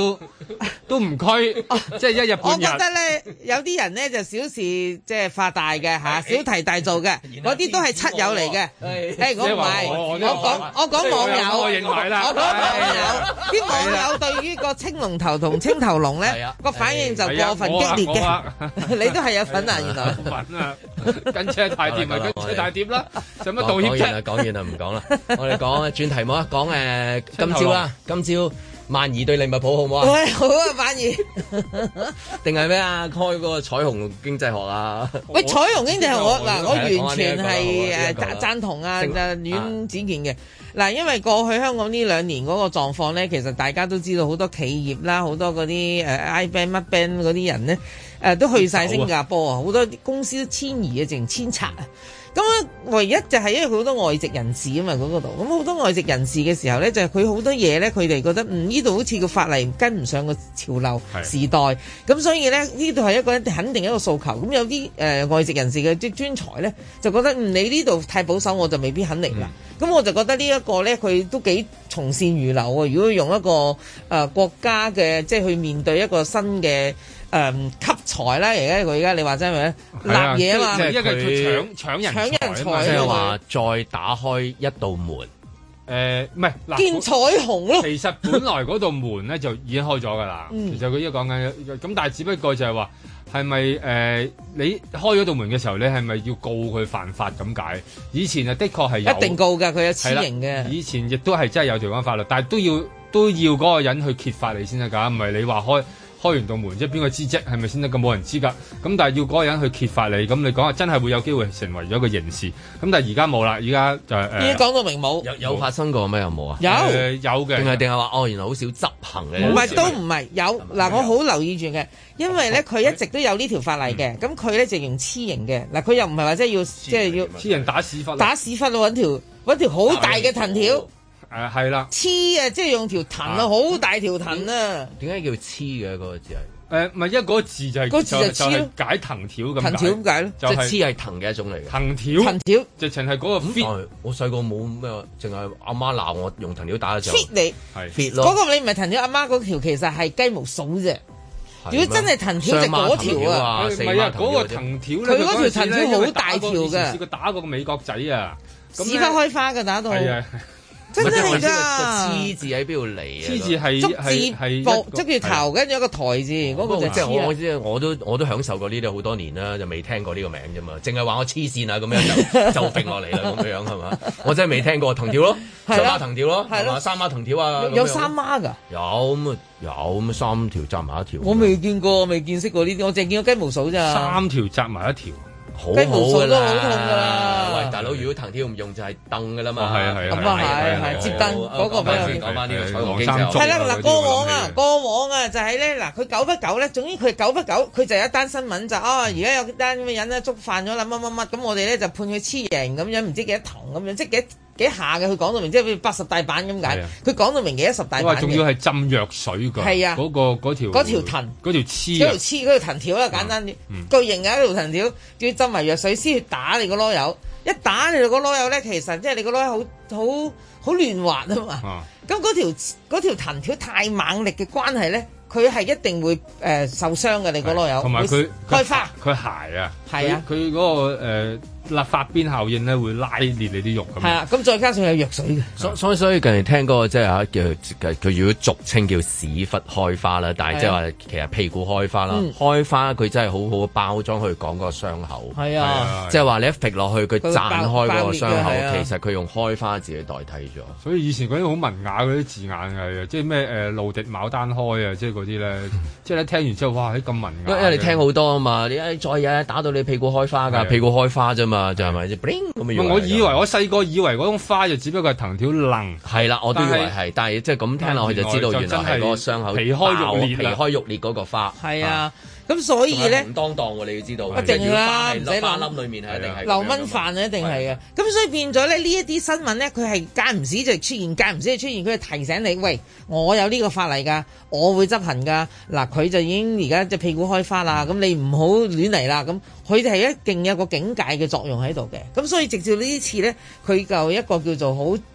都唔拘，即係一日半日。 我覺得咧，有啲人咧就小事即係發大嘅嚇，小題大做嘅，嗰啲都係七友嚟嘅。誒，我唔係，我講我講網友， 我認為啦， 我講網友，啲網友對於個青龍頭同青頭龍咧個反應就過分激烈嘅。你都係有份啊，原來。 份啊，跟車太掂咪跟車太掂啦，使乜道歉啫？ 講完啦，講完啦，唔講啦。我哋講轉題目啊，講誒今朝啦，今朝。萬怡對利物浦好唔好啊？ 喂，好啊，萬怡。 定係咩啊？開嗰個彩虹經濟學啊？ 喂，彩虹經濟學我嗱，我完全係誒贊贊同啊，就阮子健嘅嗱，因為過去香港呢兩年嗰個狀況咧，其實大家都知道好多企業啦，好多嗰啲誒 I band 乜 band 嗰啲人咧，誒都去晒新加坡啊，好多公司都遷移啊，淨遷冊啊。咁啊，唯一就係因為佢好多外籍人士啊嘛，嗰度咁好多外籍人士嘅時候咧，就係佢好多嘢咧，佢哋覺得嗯呢度好似個法例跟唔上個潮流時代，咁所以咧呢度係一個肯定一個訴求。咁有啲誒、呃、外籍人士嘅即係專才咧，就覺得嗯你呢度太保守，我就未必肯嚟啦。咁、嗯、我就覺得呢一個咧，佢都幾從善如流啊！如果用一個誒、呃、國家嘅即係去面對一個新嘅。誒吸財啦！而家佢而家你話真係咪立嘢啊嘛？ 即係佢搶搶人搶人才， 即係話再打開一道門。 誒唔係嗱， 見彩虹咯。 其實本來嗰道門咧就已經開咗㗎啦。其實佢依家講緊咁，但係只不過就係話係咪誒你開咗道門嘅時候，你係咪要告佢犯法咁解？以前啊，的確係有一定告㗎，佢有私刑嘅。 以前亦都係真係有條款法律，但係都要都要嗰個人去揭發你先得㗎，唔係你話開。開完道門即係邊個知啫？係咪先得？咁冇人知㗎。咁但係要嗰個人去揭發你，咁你講下真係會有機會成為咗一個刑事。咁但係而家冇啦，而家就誒。 已經講到明冇。 有有發生過咩？有冇啊？ 有、 呃、有嘅。定係定係話哦？原來好少執行嘅。 唔係都唔係有嗱，我好留意住嘅，因為咧佢一直都有呢條法例嘅。咁佢咧就用黐刑嘅嗱，佢又唔係話即係要即係要黐人打屎忽。 打屎忽咯，揾條揾條好大嘅藤條。 誒係啦。 黐啊！即係用條藤啊，好大條藤啊。 點解叫黐嘅嗰個字係？ 誒唔係，因為嗰個字就係、是、 個字就就係、是、解藤條咁解。 藤條點解咧？ 即係黐係藤嘅一種嚟嘅。 藤條。藤條。 直情係嗰個 fit、 嗯。我細個冇咩，淨係阿媽鬧我用藤條打嘅時候。 fit 你係 fit 咯。 嗰個你唔係藤條，阿媽嗰條其實係雞毛掃啫。如果真係藤條就嗰條啊。 唔係啊，嗰個藤條咧， 佢嗰條藤條好大條嘅。 試過打過個美國仔啊， 屎忽開花嘅打到。 係啊。 真係㗎！ 個黐字喺邊度嚟啊？ 黐字係竹字部，捉住頭，跟住一個台字，嗰個就即係我我知，我都我都享受過呢啲好多年啦，就未聽過呢個名啫嘛，淨係話我黐線啊咁樣就就揈落嚟啦咁樣係嘛？我真係未聽過藤條咯，雙孖藤條咯，係嘛？三孖藤條啊， 有三孖㗎？ 有咁啊有咁三條紮埋一條。 我未見過，未見識過呢啲，我淨見過雞毛掃咋。 三條紮埋一條。 雞毛掃都好痛㗎啦！ 喂，大佬，如果藤條唔用就係凳㗎啦嘛。 係啊係啊。 咁啊係係接凳嗰個比較。 講翻呢個彩虹經濟學。 係啦嗱，過往啊過往啊就係咧嗱，佢久不久咧，總之佢久不久佢就有一單新聞就啊，而家有單咁嘅人咧觸犯咗啦乜乜乜，咁我哋咧就判佢黐刑咁樣，唔知幾多藤咁樣，即係幾幾下嘅。佢講到明，即係八十大板咁解。佢講到明幾多十大板嘅。 仲要係浸藥水㗎。係啊。嗰個嗰條。 嗰條藤。 嗰條黐。 嗰條黐嗰條藤條啦，簡單啲。巨型嘅一條藤條，仲要浸埋藥水先去打你個囉柚。一打你個囉柚咧，其實即係你個囉柚好好好亂滑啊嘛。咁嗰條嗰條藤條太猛力嘅關係咧，佢係一定會誒、呃、受傷嘅。你個囉柚。同埋佢開花。佢鞋啊。係啊。佢嗰、嗰個誒。呃立法邊效應咧會拉裂你啲肉咁。係啊，咁再加上有藥水嘅。所所以所以近年聽過即係嚇叫佢如果俗稱叫屎忽開花啦，但係即係話其實屁股開花啦。嗯、開花佢真係好好包裝去講嗰個傷口。係啊，即係話你一揈落去佢綻開嗰個傷口，其實佢用開花字去代替咗。所以以前嗰啲好文雅嗰啲字眼係即係咩誒露滴牡丹開啊，即係嗰啲咧，即係你聽完之後哇，啲咁文雅。因為你聽好多啊嘛，你誒再有打到你屁股開花㗎，屁股開花啫嘛。就係咪即係咁嘅樣？我以為我細個以為嗰種花就只不過係藤條愣，係啦，我都以為係，但係即係咁聽落去就知道原來係嗰個傷口皮開肉裂，皮開肉裂嗰個花。係啊，咁所以咧唔當當喎，你要知道。一定啦，唔使花粒裡面係一定係流蚊飯啊，一定係嘅。咁所以變咗咧呢一啲新聞咧，佢係間唔時就出現，間唔時就出現，佢係提醒你，喂，我有呢個法例㗎，我會執行㗎。嗱，佢就已經而家即係屁股開花啦，咁你唔好亂嚟啦，咁。佢哋係一定有個警戒嘅作用喺度嘅，咁所以直至呢一次咧，佢就一個叫做好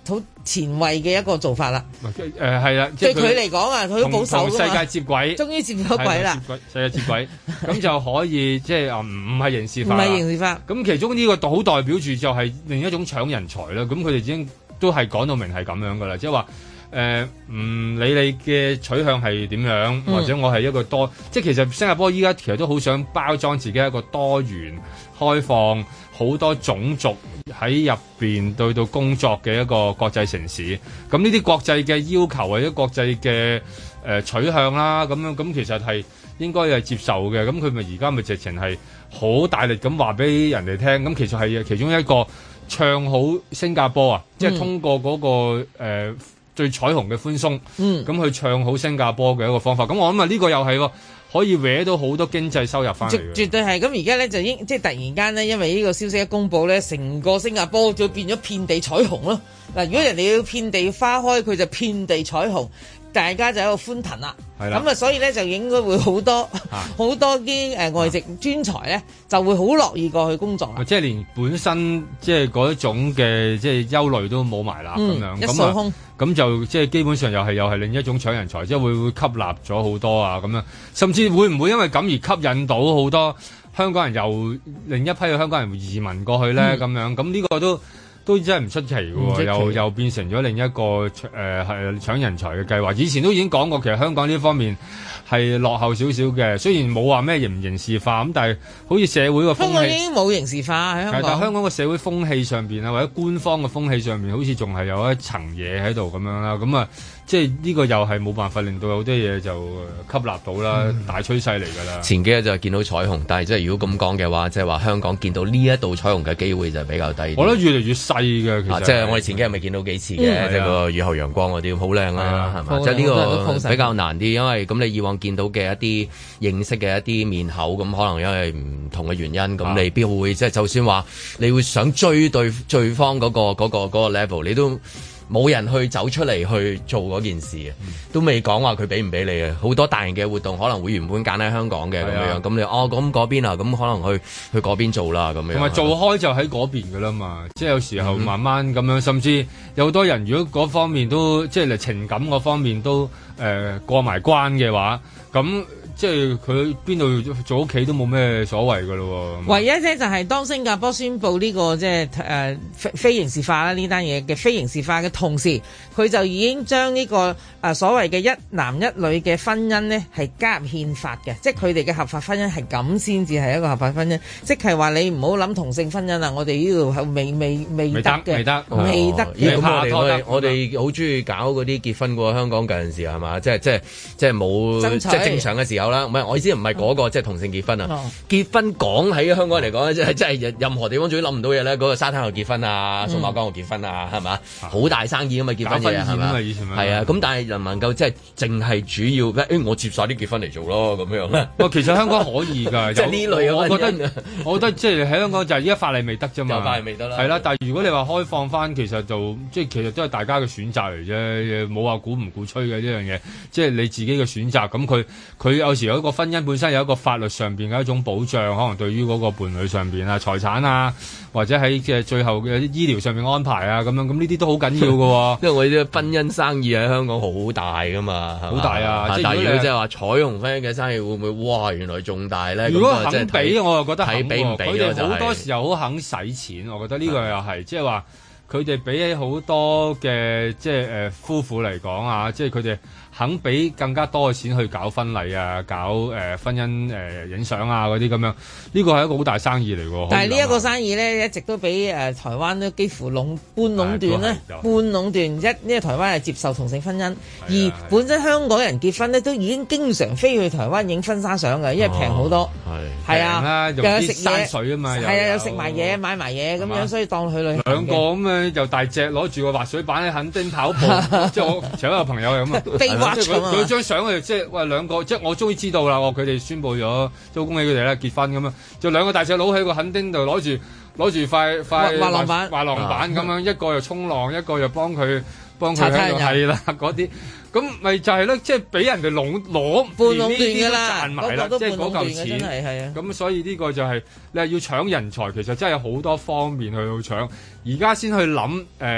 好前衛嘅一個做法啦。 誒係啦， 對佢嚟講啊，佢都保守㗎嘛。 同世界接軌，終於接咗軌啦。 世界接軌，咁就可以即係啊，唔唔係刑事化。 唔係刑事化。 咁其中呢個好代表住就係另一種搶人才啦。咁佢哋已經都係講到明係咁樣㗎啦，即係話。誒唔、呃、理你嘅取向係點樣，或者我係一個多，嗯、即係其實新加坡依家其實都好想包裝自己一個多元、開放、好多種族喺入邊對到工作嘅一個國際城市。咁呢啲國際嘅要求或者國際嘅誒、呃、取向啦，咁樣咁其實係應該係接受嘅。咁佢咪而家咪直情係好大力咁話俾人哋聽。咁其實係其中一個唱好新加坡啊，嗯、即係通過嗰、那個誒。呃最彩虹嘅寬鬆，咁、嗯、去唱好新加坡嘅一個方法。咁我諗啊，呢個又係喎，可以搲到好多經濟收入翻嚟嘅。絕對係。咁而家咧就應即係突然間咧，因為呢個消息一公佈咧，成個新加坡就變咗遍地彩虹咯。嗱，如果人哋要遍地花開，佢就遍地彩虹。大家就喺度歡騰啦，咁啊，所以咧就應該會好多好、啊、多啲誒外籍專才咧，就會好樂意過去工作啦。即係連本身即係嗰一種嘅即係憂慮都冇埋啦，咁、嗯、樣一掃空，咁就即係基本上又係又係另一種搶人才，即係會會吸納咗好多啊咁樣，甚至會唔會因為咁而吸引到好多香港人由另一批嘅香港人移民過去咧？咁、嗯、樣咁呢個都。都真係唔出奇嘅喎，又又變成咗另一個誒係、呃、搶人才嘅計劃。以前都已經講過，其實香港呢方面係落後少少嘅。雖然冇話咩刑唔刑事化咁，但係好似社會個風氣，香港已經冇刑事化喺香港。但係香港個社會風氣上邊啊，或者官方嘅風氣上面，好似仲係有一層嘢喺度咁樣啦。咁啊，即係呢個又係冇辦法令到有啲嘢就吸納到啦，嗯、大趨勢嚟㗎啦。前幾日就見到彩虹，但係即係如果咁講嘅話，即係話香港見到呢一度彩虹嘅機會就比較低。我覺得越嚟越細。嘅，其實即係我哋前幾日咪見到幾次嘅，即係個雨後陽光嗰啲好靚啦，係嘛？即係呢個比較難啲，因為咁你以往見到嘅一啲認識嘅一啲面口，咁可能因為唔同嘅原因，咁你必會即係就算話你會想追對對方嗰個嗰個嗰個 level，你都冇人去走出嚟去做嗰件事嘅，嗯、都未講話佢俾唔俾你嘅。好多大型嘅活動可能會原本揀喺香港嘅咁樣，咁你哦咁嗰邊啊，咁可能去去嗰邊做啦咁樣。同埋做開就喺嗰邊㗎啦嘛，即係有時候慢慢咁樣，嗯、甚至有好多人如果嗰方面都即係嚟情感嗰方面都誒、呃、過埋關嘅話，咁。即係佢邊度做屋企都冇咩所謂噶咯，唯一咧就係當新加坡宣布呢、這個即係誒非非刑事化啦，呢單嘢嘅非刑事化嘅同時，佢就已經將呢、這個誒、呃、所謂嘅一男一女嘅婚姻咧係加入憲法嘅，即係佢哋嘅合法婚姻係咁先至係一個合法婚姻，即係話你唔好諗同性婚姻啊！我哋呢度係未未未得嘅，未得未得。咁我哋我哋我哋好中意搞嗰啲結婚嘅香港嗰陣時係嘛？即係即係即係冇即係正常嘅時候。唔係，我意思唔係嗰個即係同性結婚啊！哦、結婚講喺香港嚟講，即係即係任何地方最諗唔到嘢咧。嗰、那個沙灘度結婚啊，數碼港度結婚啊，係嘛？好、嗯、大生意啊嘛，結婚嘢係嘛？係啊，咁但係能唔能夠即係淨係主要誒？我接晒啲結婚嚟做咯，咁樣咧。其實香港可以㗎，即係呢類嘅。我覺得我覺得即係喺香港就係依家法例未得啫嘛。法例未得啦。係啦，但係如果你話開放翻，其實就即係其實都係大家嘅選擇嚟啫，冇話鼓唔鼓吹嘅呢樣嘢。即係你自己嘅選擇。咁佢佢有時有一個婚姻本身有一個法律上邊嘅一種保障，可能對於嗰個伴侶上邊啊、財產啊，或者喺嘅最後嘅醫療上面安排啊，咁樣咁呢啲都好緊要嘅。因為我哋啲婚姻生意喺香港好大噶嘛，好大啊！即係如果即係話彩虹婚姻嘅生意會唔會哇？原來仲大咧？如果肯俾，我又覺得睇俾唔俾。佢哋好多時候好肯使錢，我覺得呢個又係即係話佢哋比起好多嘅即係誒夫婦嚟講啊，即係佢哋。肯俾更加多嘅錢去搞婚禮啊，搞誒、呃、婚姻誒影相啊嗰啲咁樣，呢個係一個好大生意嚟喎。但係呢一個生意咧，一直都俾誒、呃、台灣都幾乎壟半壟斷咧，半壟斷一，因為台灣係接受同性婚姻，啊、而本身香港人結婚咧都已經經常飛去台灣影婚紗相嘅，因為平好多。係係啊，又有食山水啊嘛，係啊，有食埋嘢買埋嘢咁樣，所以當去旅行。兩個咁樣又大隻，攞住個滑水板喺墾丁跑步，即係我請一個朋友係咁啊。即係佢佢張相佢即係喂兩個，即係我終於知道啦！佢哋宣佈咗，都恭喜佢哋啦，結婚咁樣，就兩個大隻佬喺個墾丁度攞住攞住塊塊滑浪板，滑浪板咁樣，一個又衝浪，一個又幫佢幫佢喺度係啦嗰啲，咁咪就係咧，即係俾人哋壟攞半壟斷㗎啦，賺埋啦，即係嗰嚿錢係係啊！咁所以呢個就係你係要搶人才，其實真係好多方面去到搶，而家先去諗誒。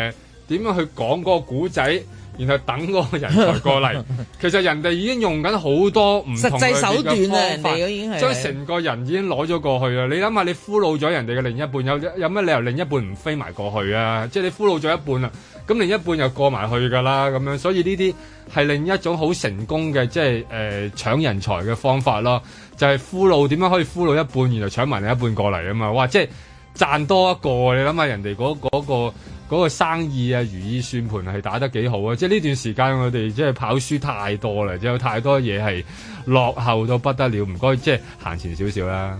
點樣去講嗰個古仔。然後等嗰個人才過嚟，其實人哋已經用緊好多唔同嘅方法，實際手段啊，人哋已經係將成個人已經攞咗過去啦。你諗下，你俘虜咗人哋嘅另一半，有有乜理由另一半唔飛埋過去啊？即係你俘虜咗一半啦，咁另一半又過埋去㗎啦，咁樣。所以呢啲係另一種好成功嘅，即係誒搶人才嘅方法咯。就係俘虜點樣可以俘虜一半，然後搶埋另一半過嚟啊嘛！哇，即係賺多一個，你諗下人哋嗰嗰個。嗰個生意啊，如意算盤係打得幾好啊！即係呢段時間我哋即係跑輸太多啦，有太多嘢係落後到不得了，唔該即係行前少少啦。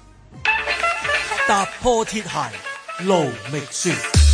踏破鐵鞋路未絕。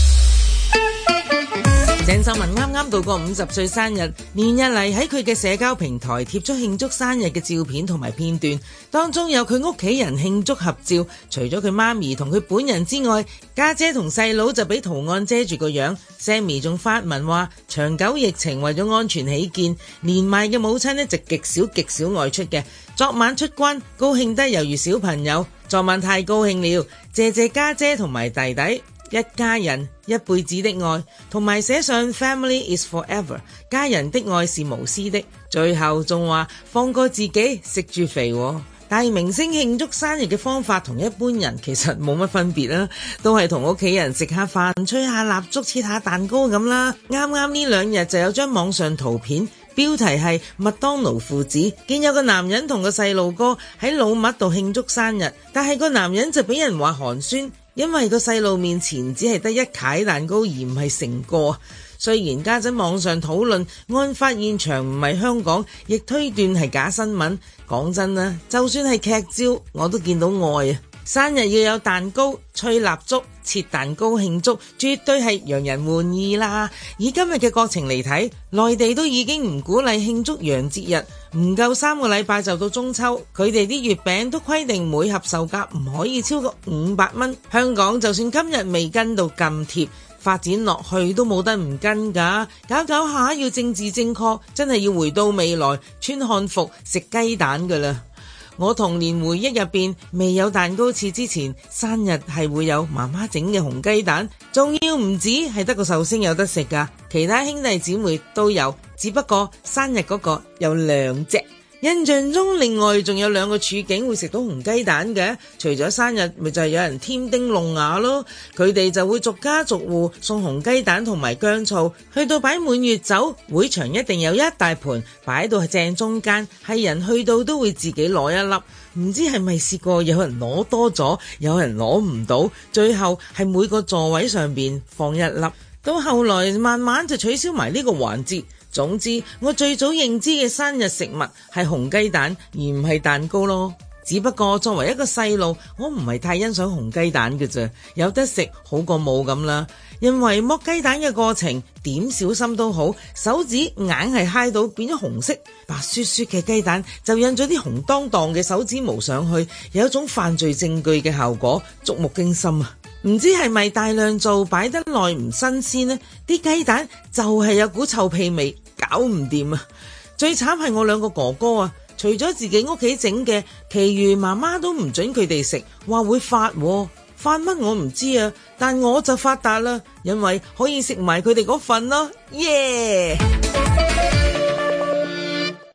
鄭秀文啱啱度過五十歲生日，連日嚟喺佢嘅社交平台貼出慶祝生日嘅照片同埋片段，當中有佢屋企人慶祝合照，除咗佢媽咪同佢本人之外，家姐同細佬就俾圖案遮住個樣。Sammy 仲發文話，長久疫情為咗安全起見，年邁嘅母親呢就極少極少外出嘅。昨晚出關，高興得猶如小朋友，昨晚太高興了，謝謝家姐同埋弟弟。一家人一輩子的愛，同埋寫上 Family is forever， 家人的愛是無私的。最後仲話放過自己，食住肥。大明星慶祝生日嘅方法同一般人其實冇乜分別啦，都係同屋企人食下飯、吹下蠟燭、切下蛋糕咁啦。啱啱呢兩日就有張網上圖片，標題係麥當勞父子，見有個男人同個細路哥喺老麥度慶祝生日，但係個男人就俾人話寒酸。因為個細路面前只係得一塊蛋糕而唔係成個，雖然家陣網上討論案發現場唔係香港，亦推斷係假新聞。講真啦，就算係劇照，我都見到愛啊！生日要有蛋糕、吹蠟燭、切蛋糕慶祝，絕對係讓人滿意啦。以今日嘅國情嚟睇，內地都已經唔鼓勵慶祝洋節日，唔夠三個禮拜就到中秋，佢哋啲月餅都規定每盒售價唔可以超過五百蚊。香港就算今日未跟到咁貼，發展落去都冇得唔跟㗎。搞搞下要政治正確，真係要回到未來，穿漢服食雞蛋㗎啦。我童年回憶入邊，未有蛋糕切之前，生日係會有媽媽整嘅紅雞蛋，仲要唔止係得個壽星有得食㗎，其他兄弟姊妹都有，只不過生日嗰個有兩隻。印象中另外仲有兩個處境會食到紅雞蛋嘅，除咗生日咪就係有人添丁弄牙咯，佢哋就會逐家逐戶送紅雞蛋同埋薑醋，去到擺滿月酒，會場一定有一大盤擺到正中間，係人去到都會自己攞一粒，唔知係咪試過有人攞多咗，有人攞唔到，最後係每個座位上邊放一粒，到後來慢慢就取消埋呢個環節。總之，我最早認知嘅生日食物係紅雞蛋，而唔係蛋糕咯。只不過作為一個細路，我唔係太欣賞紅雞蛋嘅啫，有得食好過冇咁啦。因為剝雞蛋嘅過程點小心都好，手指硬係揩到變咗紅色，白雪雪嘅雞蛋就印咗啲紅當當嘅手指模上去，有一種犯罪證據嘅效果，觸目驚心啊！唔知係咪大量做擺得耐唔新鮮呢？啲雞蛋就係有股臭屁味，搞唔掂啊！最慘係我兩個哥哥啊，除咗自己屋企整嘅，其餘媽媽都唔准佢哋食，話會發喎。發乜我唔知啊，但我就發達啦，因為可以食埋佢哋嗰份咯，耶、yeah!